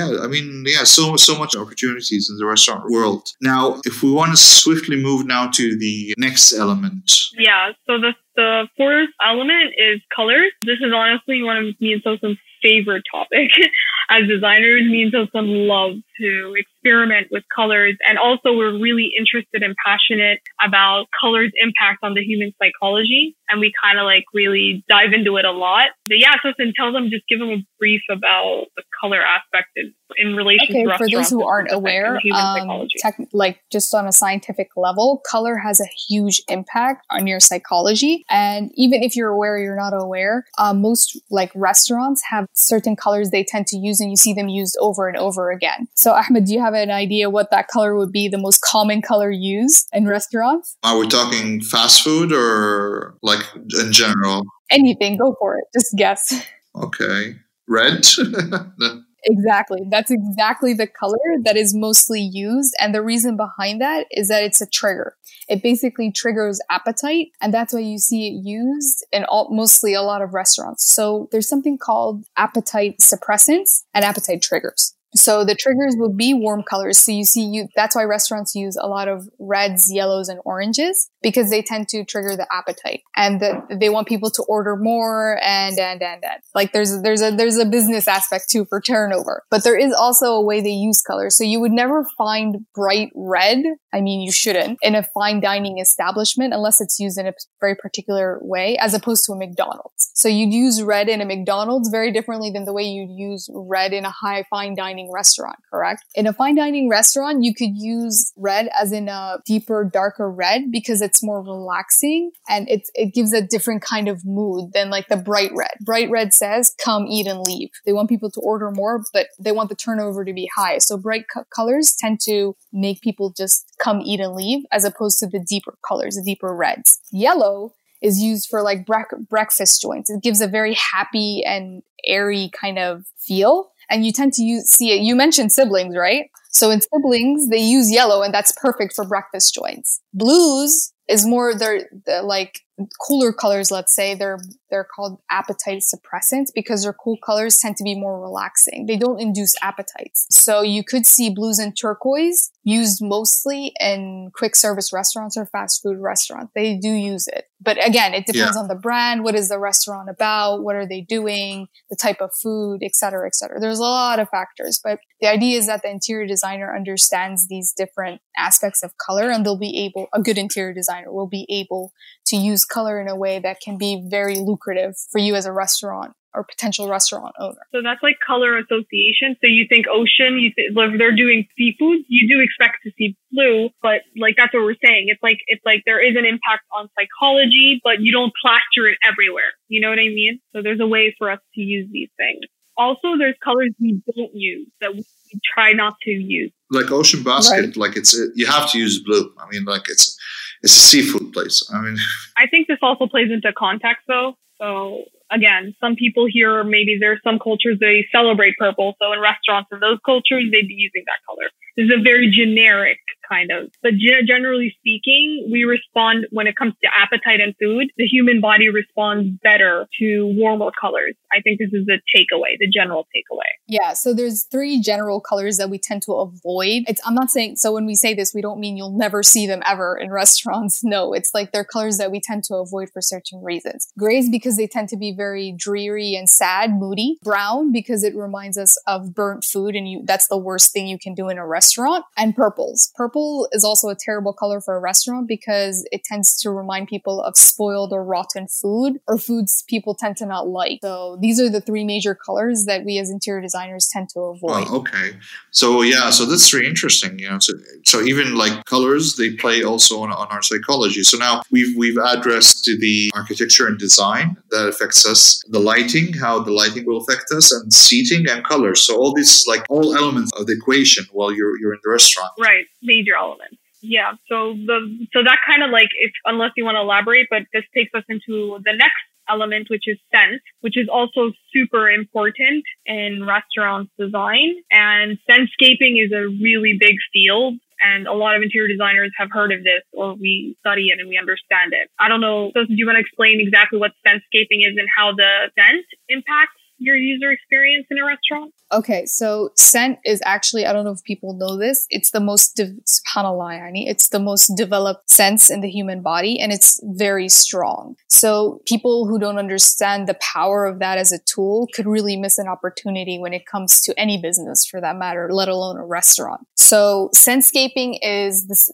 so much opportunities in the restaurant world. Now, if we want to swiftly move now to the next element. Yeah, so the fourth element is colors. This is honestly one of me and Sosam's favorite topic. As designers, me and Sosam love to experiment with colors, and also we're really interested and passionate about colors' impact on the human psychology, and we kind of really dive into it a lot. But yeah, Sosam, just give them a brief about the color aspect in relation to restaurants. For those who aren't aware, just on a scientific level, color has a huge impact on your psychology. And even if you're aware or you're not aware, most restaurants have certain colors they tend to use, and you see them used over and over again. So Ahmed, do you have an idea what that color would be, the most common color used in restaurants? Are we talking fast food or in general? Anything, go for it. Just guess. Okay. Red? Exactly. That's exactly the color that is mostly used. And the reason behind that is that it's a trigger. It basically triggers appetite. And that's why you see it used in mostly a lot of restaurants. So there's something called appetite suppressants and appetite triggers. So the triggers will be warm colors. So that's why restaurants use a lot of reds, yellows, and oranges, because they tend to trigger the appetite, and they want people to order more and. There's a business aspect too for turnover, but there is also a way they use colors. So you would never find bright red. I mean, you shouldn't in a fine dining establishment unless it's used in a very particular way, as opposed to a McDonald's. So you'd use red in a McDonald's very differently than the way you'd use red in a high fine dining restaurant, correct? In a fine dining restaurant, you could use red as in a deeper, darker red because it's more relaxing and it gives a different kind of mood than the bright red. Bright red says, come, eat, and leave. They want people to order more, but they want the turnover to be high. So bright colors tend to make people just come, eat, and leave, as opposed to the deeper colors, the deeper reds. Yellow is used for breakfast joints. It gives a very happy and airy kind of feel. And you tend to see it. You mentioned siblings, right? So in siblings, they use yellow, and that's perfect for breakfast joints. Blues is more, they're cooler colors, let's say. They're called appetite suppressants because their cool colors tend to be more relaxing. They don't induce appetites. So you could see blues and turquoise used mostly in quick service restaurants or fast food restaurants. They do use it. But again, it depends on the brand. What is the restaurant about? What are they doing? The type of food, et cetera, et cetera. There's a lot of factors, but the idea is that the interior designer understands these different aspects of color, and a good interior designer will be able to use color in a way that can be very lucrative for you as a restaurant or potential restaurant owner. So that's color association. So you think ocean, if they're doing seafood, you do expect to see blue, but that's what we're saying. It's there is an impact on psychology, but you don't plaster it everywhere. You know what I mean? So there's a way for us to use these things. Also, there's colors we don't use that we try not to use. Like Ocean Basket, right. You have to use blue. I mean, it's a seafood place. I mean, I think this also plays into context though. So again, some people here, maybe there's some cultures, they celebrate purple. So in restaurants in those cultures, they'd be using that color. This is a very generic kind of. But generally speaking, we respond when it comes to appetite and food. The human body responds better to warmer colors. I think this is the takeaway, the general takeaway. Yeah, so there's 3 general colors that we tend to avoid. I'm not saying, so when we say this, we don't mean you'll never see them ever in restaurants. No, it's like they're colors that we tend to avoid for certain reasons. Grays because they tend to be very dreary and sad, moody. Brown because it reminds us of burnt food, and that's the worst thing you can do in a restaurant. And purples. Purple is also a terrible color for a restaurant because it tends to remind people of spoiled or rotten food, or foods people tend to not like. So these are the 3 major colors that we as interior designers tend to avoid. Oh, okay. So that's really interesting. So even like colors, they play also on our psychology. So now we've addressed the architecture and design that affects us, the lighting, how the lighting will affect us, and seating and colors. So all these, like, all elements of the equation while you're in the restaurant. Right, major elements. Yeah. So that kind of like, unless you want to elaborate, but this takes us into the next element, which is scent, which is also super important in restaurant design. And scentscaping is a really big field. And a lot of interior designers have heard of this, or we study it and we understand it. I don't know. So do you want to explain exactly what scentscaping is and how the scent impacts your user experience in a restaurant? Okay, so scent is actually, I don't know if people know this, it's the most, subhanAllah, yani, it's the most developed sense in the human body, and it's very strong. So people who don't understand the power of that as a tool could really miss an opportunity when it comes to any business, for that matter, let alone a restaurant. So scentscaping is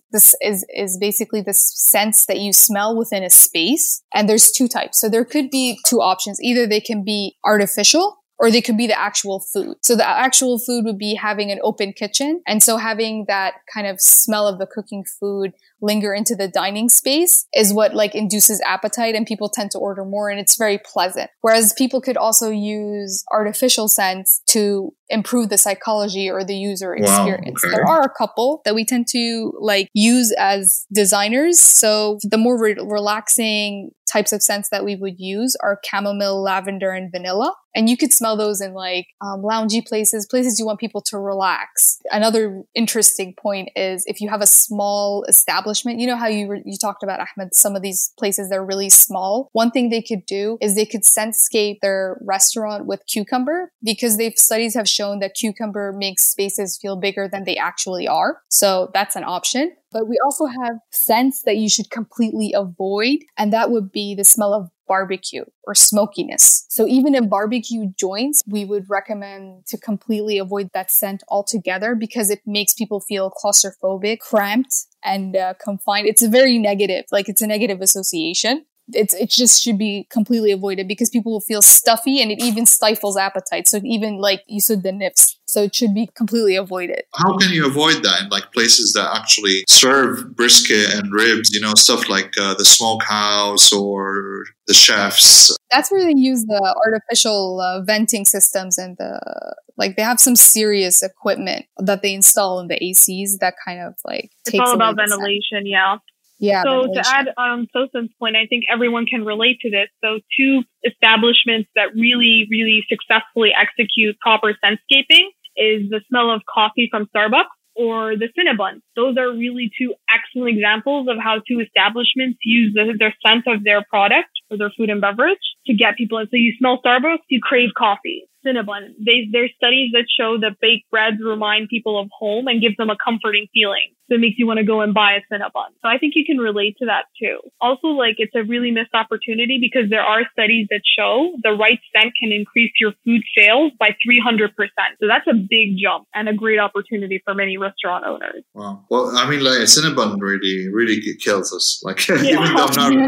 is basically the sense that you smell within a space, and there's 2 types. So there could be 2 options. Either they can be artificial, or they could be the actual food. So the actual food would be having an open kitchen. And so having that kind of smell of the cooking food linger into the dining space is what like induces appetite, and people tend to order more, and it's very pleasant. Whereas people could also use artificial scents to improve the psychology or the user experience. Wow, okay. There are a couple that we tend to like use as designers. So the more relaxing types of scents that we would use are chamomile, lavender, and vanilla. And you could smell those in like loungy places you want people to relax. Another interesting point is if you have a small establishment, you know how you talked about, Ahmed, some of these places, they're really small. One thing they could do is they could scentscape their restaurant with cucumber, because studies have shown that cucumber makes spaces feel bigger than they actually are. So that's an option. But we also have scents that you should completely avoid, and that would be the smell of barbecue or smokiness. So even in barbecue joints, we would recommend to completely avoid that scent altogether, because it makes people feel claustrophobic, cramped, and confined. It's a very negative, it's a negative association. It just should be completely avoided, because people will feel stuffy, and it even stifles appetite. So even you said, the nips. So it should be completely avoided. How can you avoid that in like places that actually serve brisket and ribs, stuff like the smokehouse or the chefs? That's where they use the artificial venting systems, and they have some serious equipment that they install in the ACs that kind of it's all about ventilation, yeah. Yeah. So to add Sosan's point, I think everyone can relate to this. So 2 establishments that really, really successfully execute proper scentscaping is the smell of coffee from Starbucks or the Cinnabon. Those are really 2 excellent examples of how 2 establishments use their scent of their product or their food and beverage to get people in. So you smell Starbucks, you crave coffee. Cinnabon. There's studies that show that baked breads remind people of home and give them a comforting feeling. So it makes you want to go and buy a Cinnabon. So I think you can relate to that too. Also, it's a really missed opportunity, because there are studies that show the right scent can increase your food sales by 300%. So that's a big jump and a great opportunity for many restaurant owners. Wow. Well, I mean, Cinnabon really, really kills us. Even though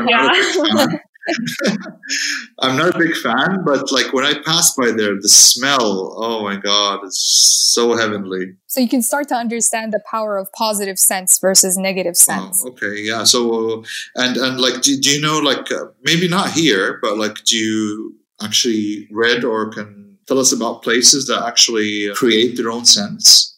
I'm not a big fan, but when I pass by there, the smell, oh my God, it's so heavenly. So you can start to understand the power of positive scents versus negative scents. Oh, okay, yeah. So, and do you know, maybe not here, but do you actually read or can tell us about places that actually create their own scents?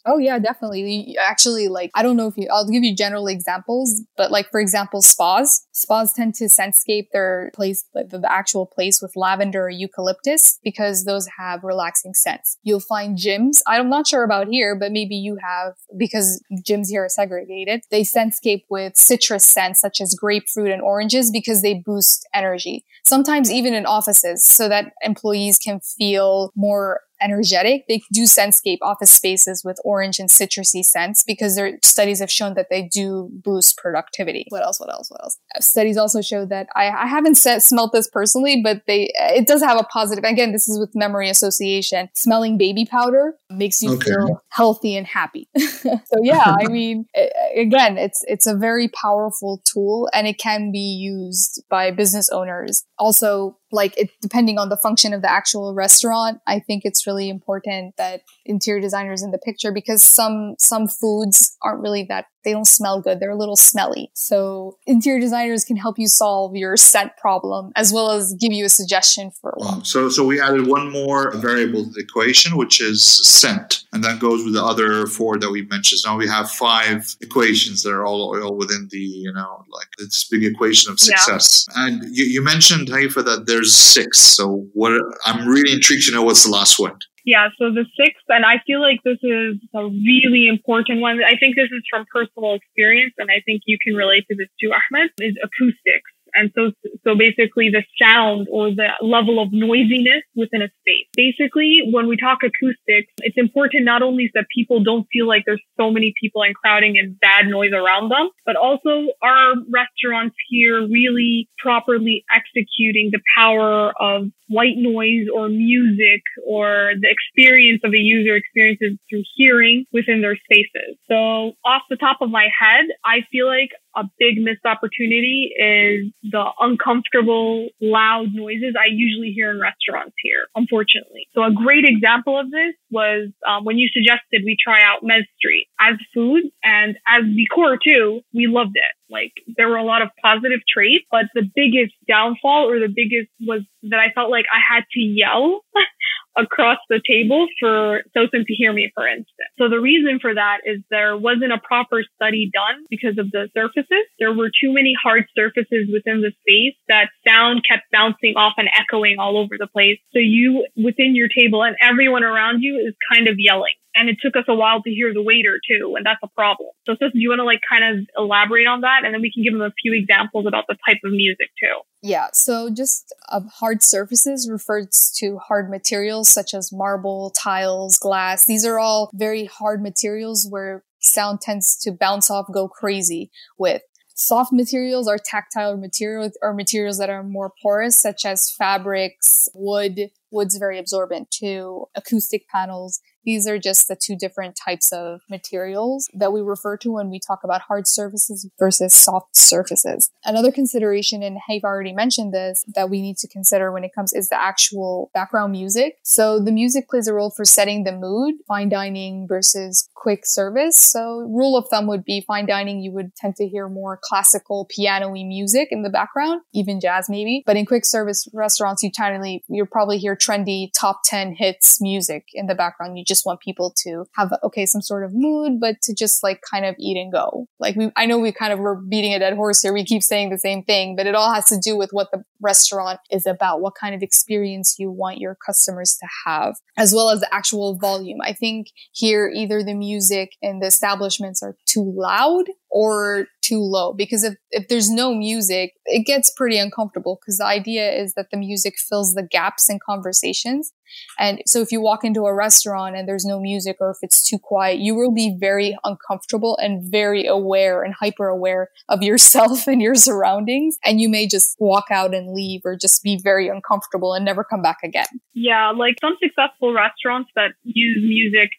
Oh yeah, definitely. Actually, like, I don't know if I'll give you general examples, but like, for example, spas tend to scentscape their place, like the actual place with lavender or eucalyptus because those have relaxing scents. You'll find gyms. I'm not sure about here, but maybe you have, because gyms here are segregated. They scentscape with citrus scents such as grapefruit and oranges because they boost energy. Sometimes even in offices so that employees can feel more energetic. They do scentscape office spaces with orange and citrusy scents because their studies have shown that they do boost productivity. What else? Studies also show that I haven't smelled this personally, but it does have a positive. Again, this is with memory association. Smelling baby powder makes you feel healthy and happy. So yeah, I mean, again, it's a very powerful tool and it can be used by business owners. Also, like depending on the function of the actual restaurant, I think it's really important that interior designers in the picture because some foods aren't really they don't smell good. They're a little smelly. So interior designers can help you solve your scent problem as well as give you a suggestion for one. So we added one more variable to the equation, which is scent. And that goes with the other 4 that we mentioned. So now we have 5 equations that are all within the, like this big equation of success. Yeah. And you mentioned, Haifa, that there's 6. So I'm really intrigued to know what's the last one. Yeah, so the 6th, and I feel like this is a really important one. I think this is from personal experience, and I think you can relate to this too, Ahmed, is acoustics. And so basically the sound or the level of noisiness within a space. Basically, when we talk acoustics, it's important not only so that people don't feel like there's so many people and crowding and bad noise around them, but also our restaurants here really properly executing the power of white noise or music or the experience of a user experiences through hearing within their spaces. So off the top of my head, I feel like a big missed opportunity is the uncomfortable, loud noises I usually hear in restaurants here, unfortunately. So a great example of this was when you suggested we try out Mez Street as food and as decor too. We loved it. Like there were a lot of positive traits, but the biggest downfall or the biggest was that I felt like I had to yell across the table for Sosen to hear me, for instance. So the reason for that is there wasn't a proper study done because of the surfaces. There were too many hard surfaces within the space that sound kept bouncing off and echoing all over the place. So you, within your table and everyone around you is kind of yelling. And it took us a while to hear the waiter too, and that's a problem. So Sosen, do you want to kind of elaborate on that? And then we can give them a few examples about the type of music too. Yeah, so just hard surfaces refers to hard materials such as marble, tiles, glass. These are all very hard materials where sound tends to bounce off, go crazy with. Soft materials are tactile materials or materials that are more porous, such as fabrics, wood. Wood's very absorbent too. Acoustic panels. These are just the 2 different types of materials that we refer to when we talk about hard surfaces versus soft surfaces. Another consideration, and Haifa already mentioned this, that we need to consider when it comes is the actual background music. So the music plays a role for setting the mood, fine dining versus quick service. So rule of thumb would be fine dining, you would tend to hear more classical piano-y music in the background, even jazz maybe. But in quick service restaurants, you'll probably hear trendy top 10 hits music in the background. You just want people to have, some sort of mood, but to just like kind of eat and go. Like I know we kind of were beating a dead horse here. We keep saying the same thing, but it all has to do with what the restaurant is about, what kind of experience you want your customers to have, as well as the actual volume. I think here either the music in the establishments are too loud or too low, because if there's no music, it gets pretty uncomfortable because the idea is that the music fills the gaps in conversations. And so if you walk into a restaurant and there's no music or if it's too quiet, you will be very uncomfortable and very aware and hyper aware of yourself and your surroundings. And you may just walk out and leave or just be very uncomfortable and never come back again. Yeah, like some successful restaurants that use music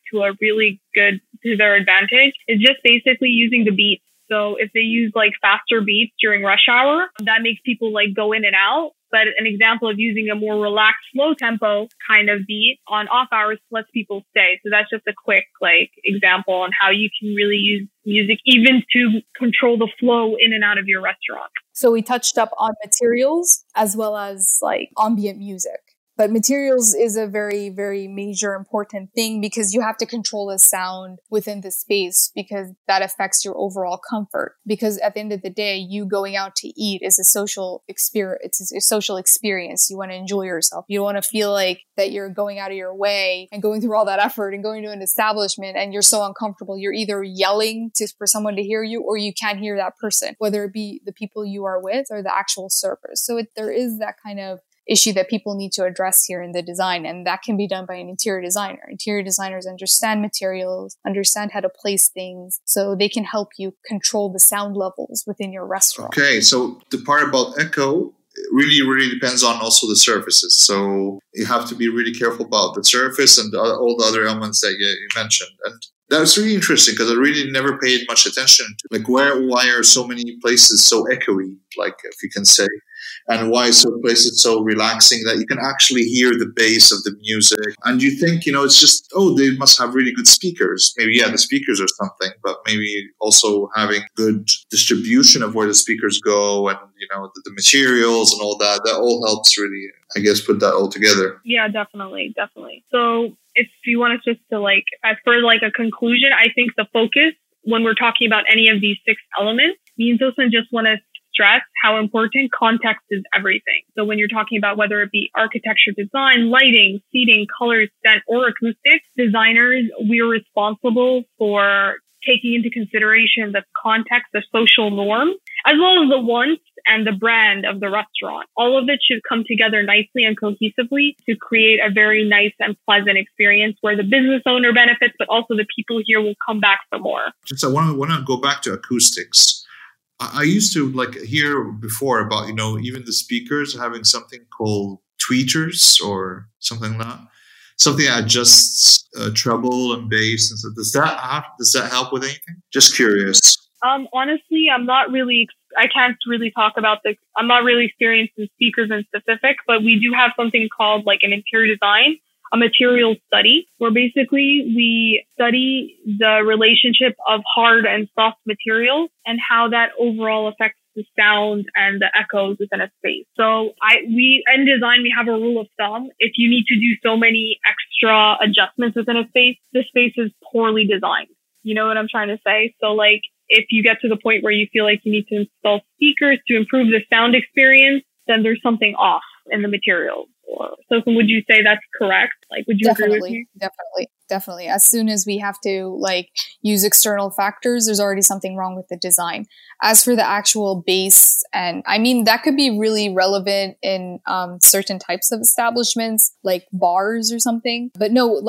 to their advantage is just basically using the beats. So if they use like faster beats during rush hour, that makes people like go in and out. But an example of using a more relaxed, slow tempo kind of beat on off hours lets people stay. So that's just a quick example on how you can really use music even to control the flow in and out of your restaurant. So we touched up on materials as well as like ambient music. But materials is a very, very major important thing because you have to control the sound within the space because that affects your overall comfort. Because at the end of the day, you going out to eat is a social experience. It's a social experience. You want to enjoy yourself. You don't want to feel like that you're going out of your way and going through all that effort and going to an establishment and you're so uncomfortable. You're either yelling for someone to hear you or you can't hear that person, whether it be the people you are with or the actual servers. So there is that kind of issue that people need to address here in the design, and that can be done by an interior designer. Interior designers understand materials, understand how to place things, so they can help you control the sound levels within your restaurant. Okay, so the part about echo really, really depends on also the surfaces. So you have to be really careful about the surface and all the other elements that you mentioned. And that's really interesting because I really never paid much attention to, like, why are so many places so echoey, like, if you can say. And why is some places so relaxing that you can actually hear the bass of the music? And you think, it's just, they must have really good speakers. Maybe, the speakers or something, but maybe also having good distribution of where the speakers go and, the materials and all that. That all helps really, I guess, put that all together. Yeah, definitely. So if you want us just to as for a conclusion, I think the focus when we're talking about any of these 6 elements, me and Tosin just want to stress how important context is everything. So when you're talking about whether it be architecture, design, lighting, seating, colors, scent, or acoustics, designers, we're responsible for taking into consideration the context, the social norms, as well as the wants and the brand of the restaurant. All of it should come together nicely and cohesively to create a very nice and pleasant experience where the business owner benefits, but also the people here will come back for more. Just I want to go back to acoustics. I used to hear before about, even the speakers having something called tweeters or something like that. Something that adjusts treble and bass and stuff. Does that help with anything? Just curious. Honestly, I can't really talk about I'm not really experienced in speakers in specific, but we do have something called an interior design, a material study, where basically we study the relationship of hard and soft materials and how that overall affects the sound and the echoes within a space. So in design, we have a rule of thumb. If you need to do so many extra adjustments within a space, the space is poorly designed. You know what I'm trying to say? So if you get to the point where you feel like you need to install speakers to improve the sound experience, then there's something off in the materials. So would you say that's correct? Would you agree with me? Definitely. As soon as we have to use external factors, there's already something wrong with the design. As for the actual base, and I mean, that could be really relevant in certain types of establishments, like bars or something. But no,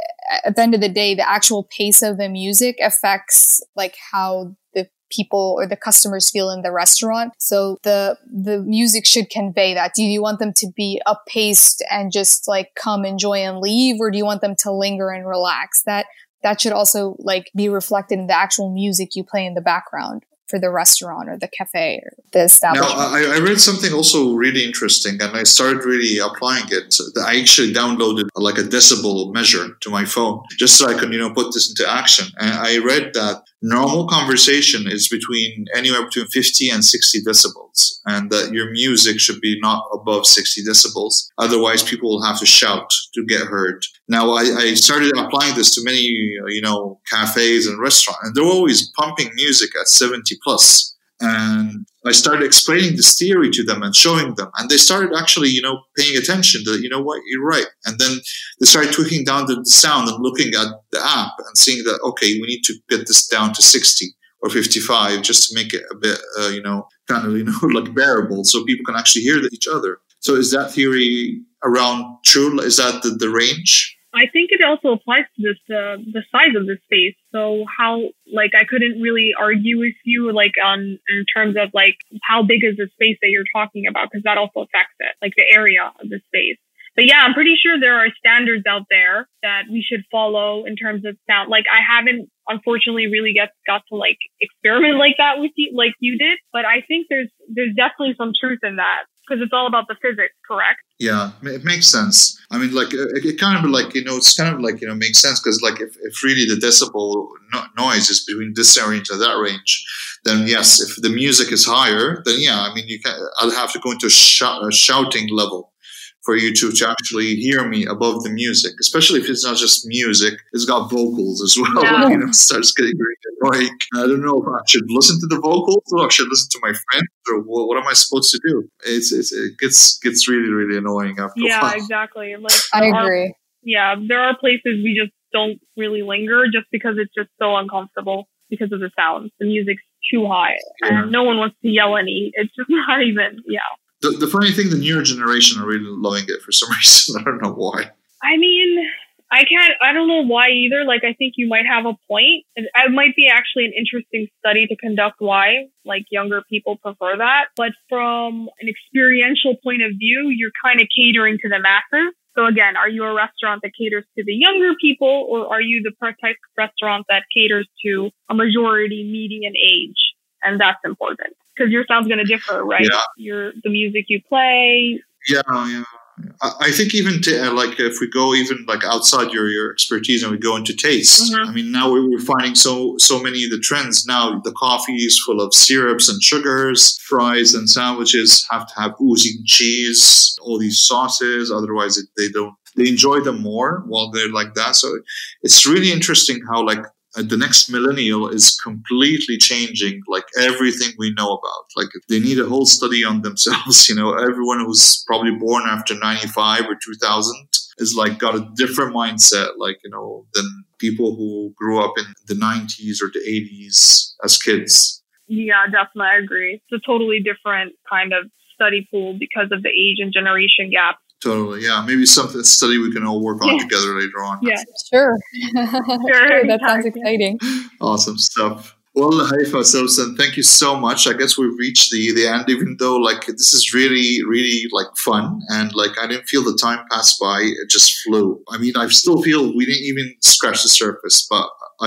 at the end of the day, the actual pace of the music affects how the people or the customers feel in the restaurant. So the music should convey that. Do you want them to be up-paced and just come, enjoy, and leave? Or do you want them to linger and relax? That should also be reflected in the actual music you play in the background for the restaurant or the cafe or the establishment. Now, I read something also really interesting and I started really applying it. I actually downloaded a decibel measure to my phone just so I can, put this into action. And I read that normal conversation is anywhere between 50 and 60 decibels and that your music should be not above 60 decibels. Otherwise, people will have to shout to get heard. Now, I started applying this to many, cafes and restaurants, and they're always pumping music at 70 plus. And I started explaining this theory to them and showing them. And they started actually, paying attention to, you're right. And then they started tweaking down the sound and looking at the app and seeing that, okay, we need to get this down to 60 or 55 just to make it a bit, bearable so people can actually hear each other. So is that theory around true? Is that the range? I think it also applies to this, the size of the space. So how, I couldn't really argue with you, in terms of, how big is the space that you're talking about? Because that also affects it, the area of the space. But yeah, I'm pretty sure there are standards out there that we should follow in terms of sound. I haven't, unfortunately, really got to, experiment like that with you, like you did. But I think there's definitely some truth in that. Because it's all about the physics, correct? Yeah, it makes sense. I mean, it kind of it's kind of makes sense because if really the decibel noise is between this range and that range, then yes, if the music is higher, then yeah, I mean, I'll have to go into a shouting level for you to actually hear me above the music, especially if it's not just music, it's got vocals as well. Yeah. You know, it starts getting really annoying. I don't know if I should listen to the vocals or I should listen to my friends or what am I supposed to do? It gets really, really annoying after a while. Yeah, exactly. Like I agree. there are places we just don't really linger just because it's just so uncomfortable because of the sound. The music's too high and no one wants to yell and eat. It's just not even, The funny thing, the newer generation are really loving it for some reason. I don't know why. I mean, I don't know why either. Like, I think you might have a point. It might be actually an interesting study to conduct why, like, younger people prefer that. But from an experiential point of view, you're kind of catering to the masses. So again, are you a restaurant that caters to the younger people, or are you the type of restaurant that caters to a majority median age? And that's important because your sound's going to differ, right? Yeah. The music you play. Yeah. I think even like if we go even like outside your expertise and we go into taste, I mean, now we're finding so many of the trends now. The coffee is full of syrups and sugars. Fries and sandwiches have to have oozing cheese, all these sauces. Otherwise, they enjoy them more while they're like that. So it's really interesting how like the next millennial is completely changing like everything we know about. Like they need a whole study on themselves. You know, everyone who's probably born after 95 or 2000 is like got a different mindset, like, you know, than people who grew up in the 90s or the 80s as kids. Yeah, definitely. I agree. It's a totally different kind of study pool because of the age and generation gap. Totally, yeah. Maybe something study we can all work on together later on. Yeah, sure. Sure, that sounds exciting. Awesome stuff. Well, Haifa Sousan, thank you so much. I guess we've reached the end, even though like this is really, really like fun and like I didn't feel the time pass by. It just flew. I mean, I still feel we didn't even scratch the surface, but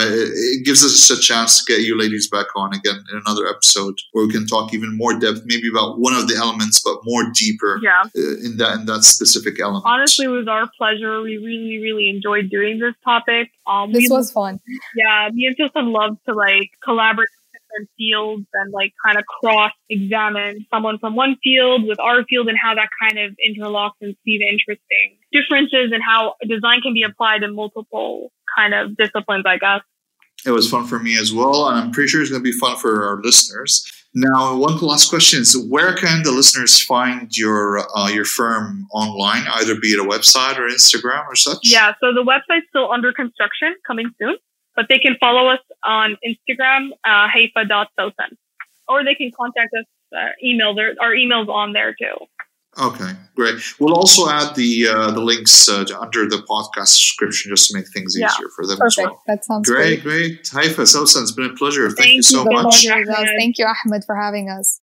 it gives us a chance to get you ladies back on again in another episode where we can talk even more depth, maybe about one of the elements, but more deeper in that specific element. Honestly, it was our pleasure. We really, really enjoyed doing this topic. This was fun. Yeah, me and Sousan love to like collaborate in different fields and like kind of cross-examine someone from one field with our field and how that kind of interlocks and see the interesting differences and how design can be applied in multiple kind of disciplines, I guess. It was fun for me as well, and I'm pretty sure it's going to be fun for our listeners. Now, one last question is, where can the listeners find your firm online, either be it a website or Instagram or such? Yeah, so the website's still under construction, coming soon, but they can follow us on Instagram, haifa.sousan, or they can contact us, email. Our email's on there too. Okay, great. We'll also add the links under the podcast description just to make things easier for them as well. That sounds great. Haifa Sousan, it's been a pleasure. Thank you so much. Thank you, Ahmed, for having us.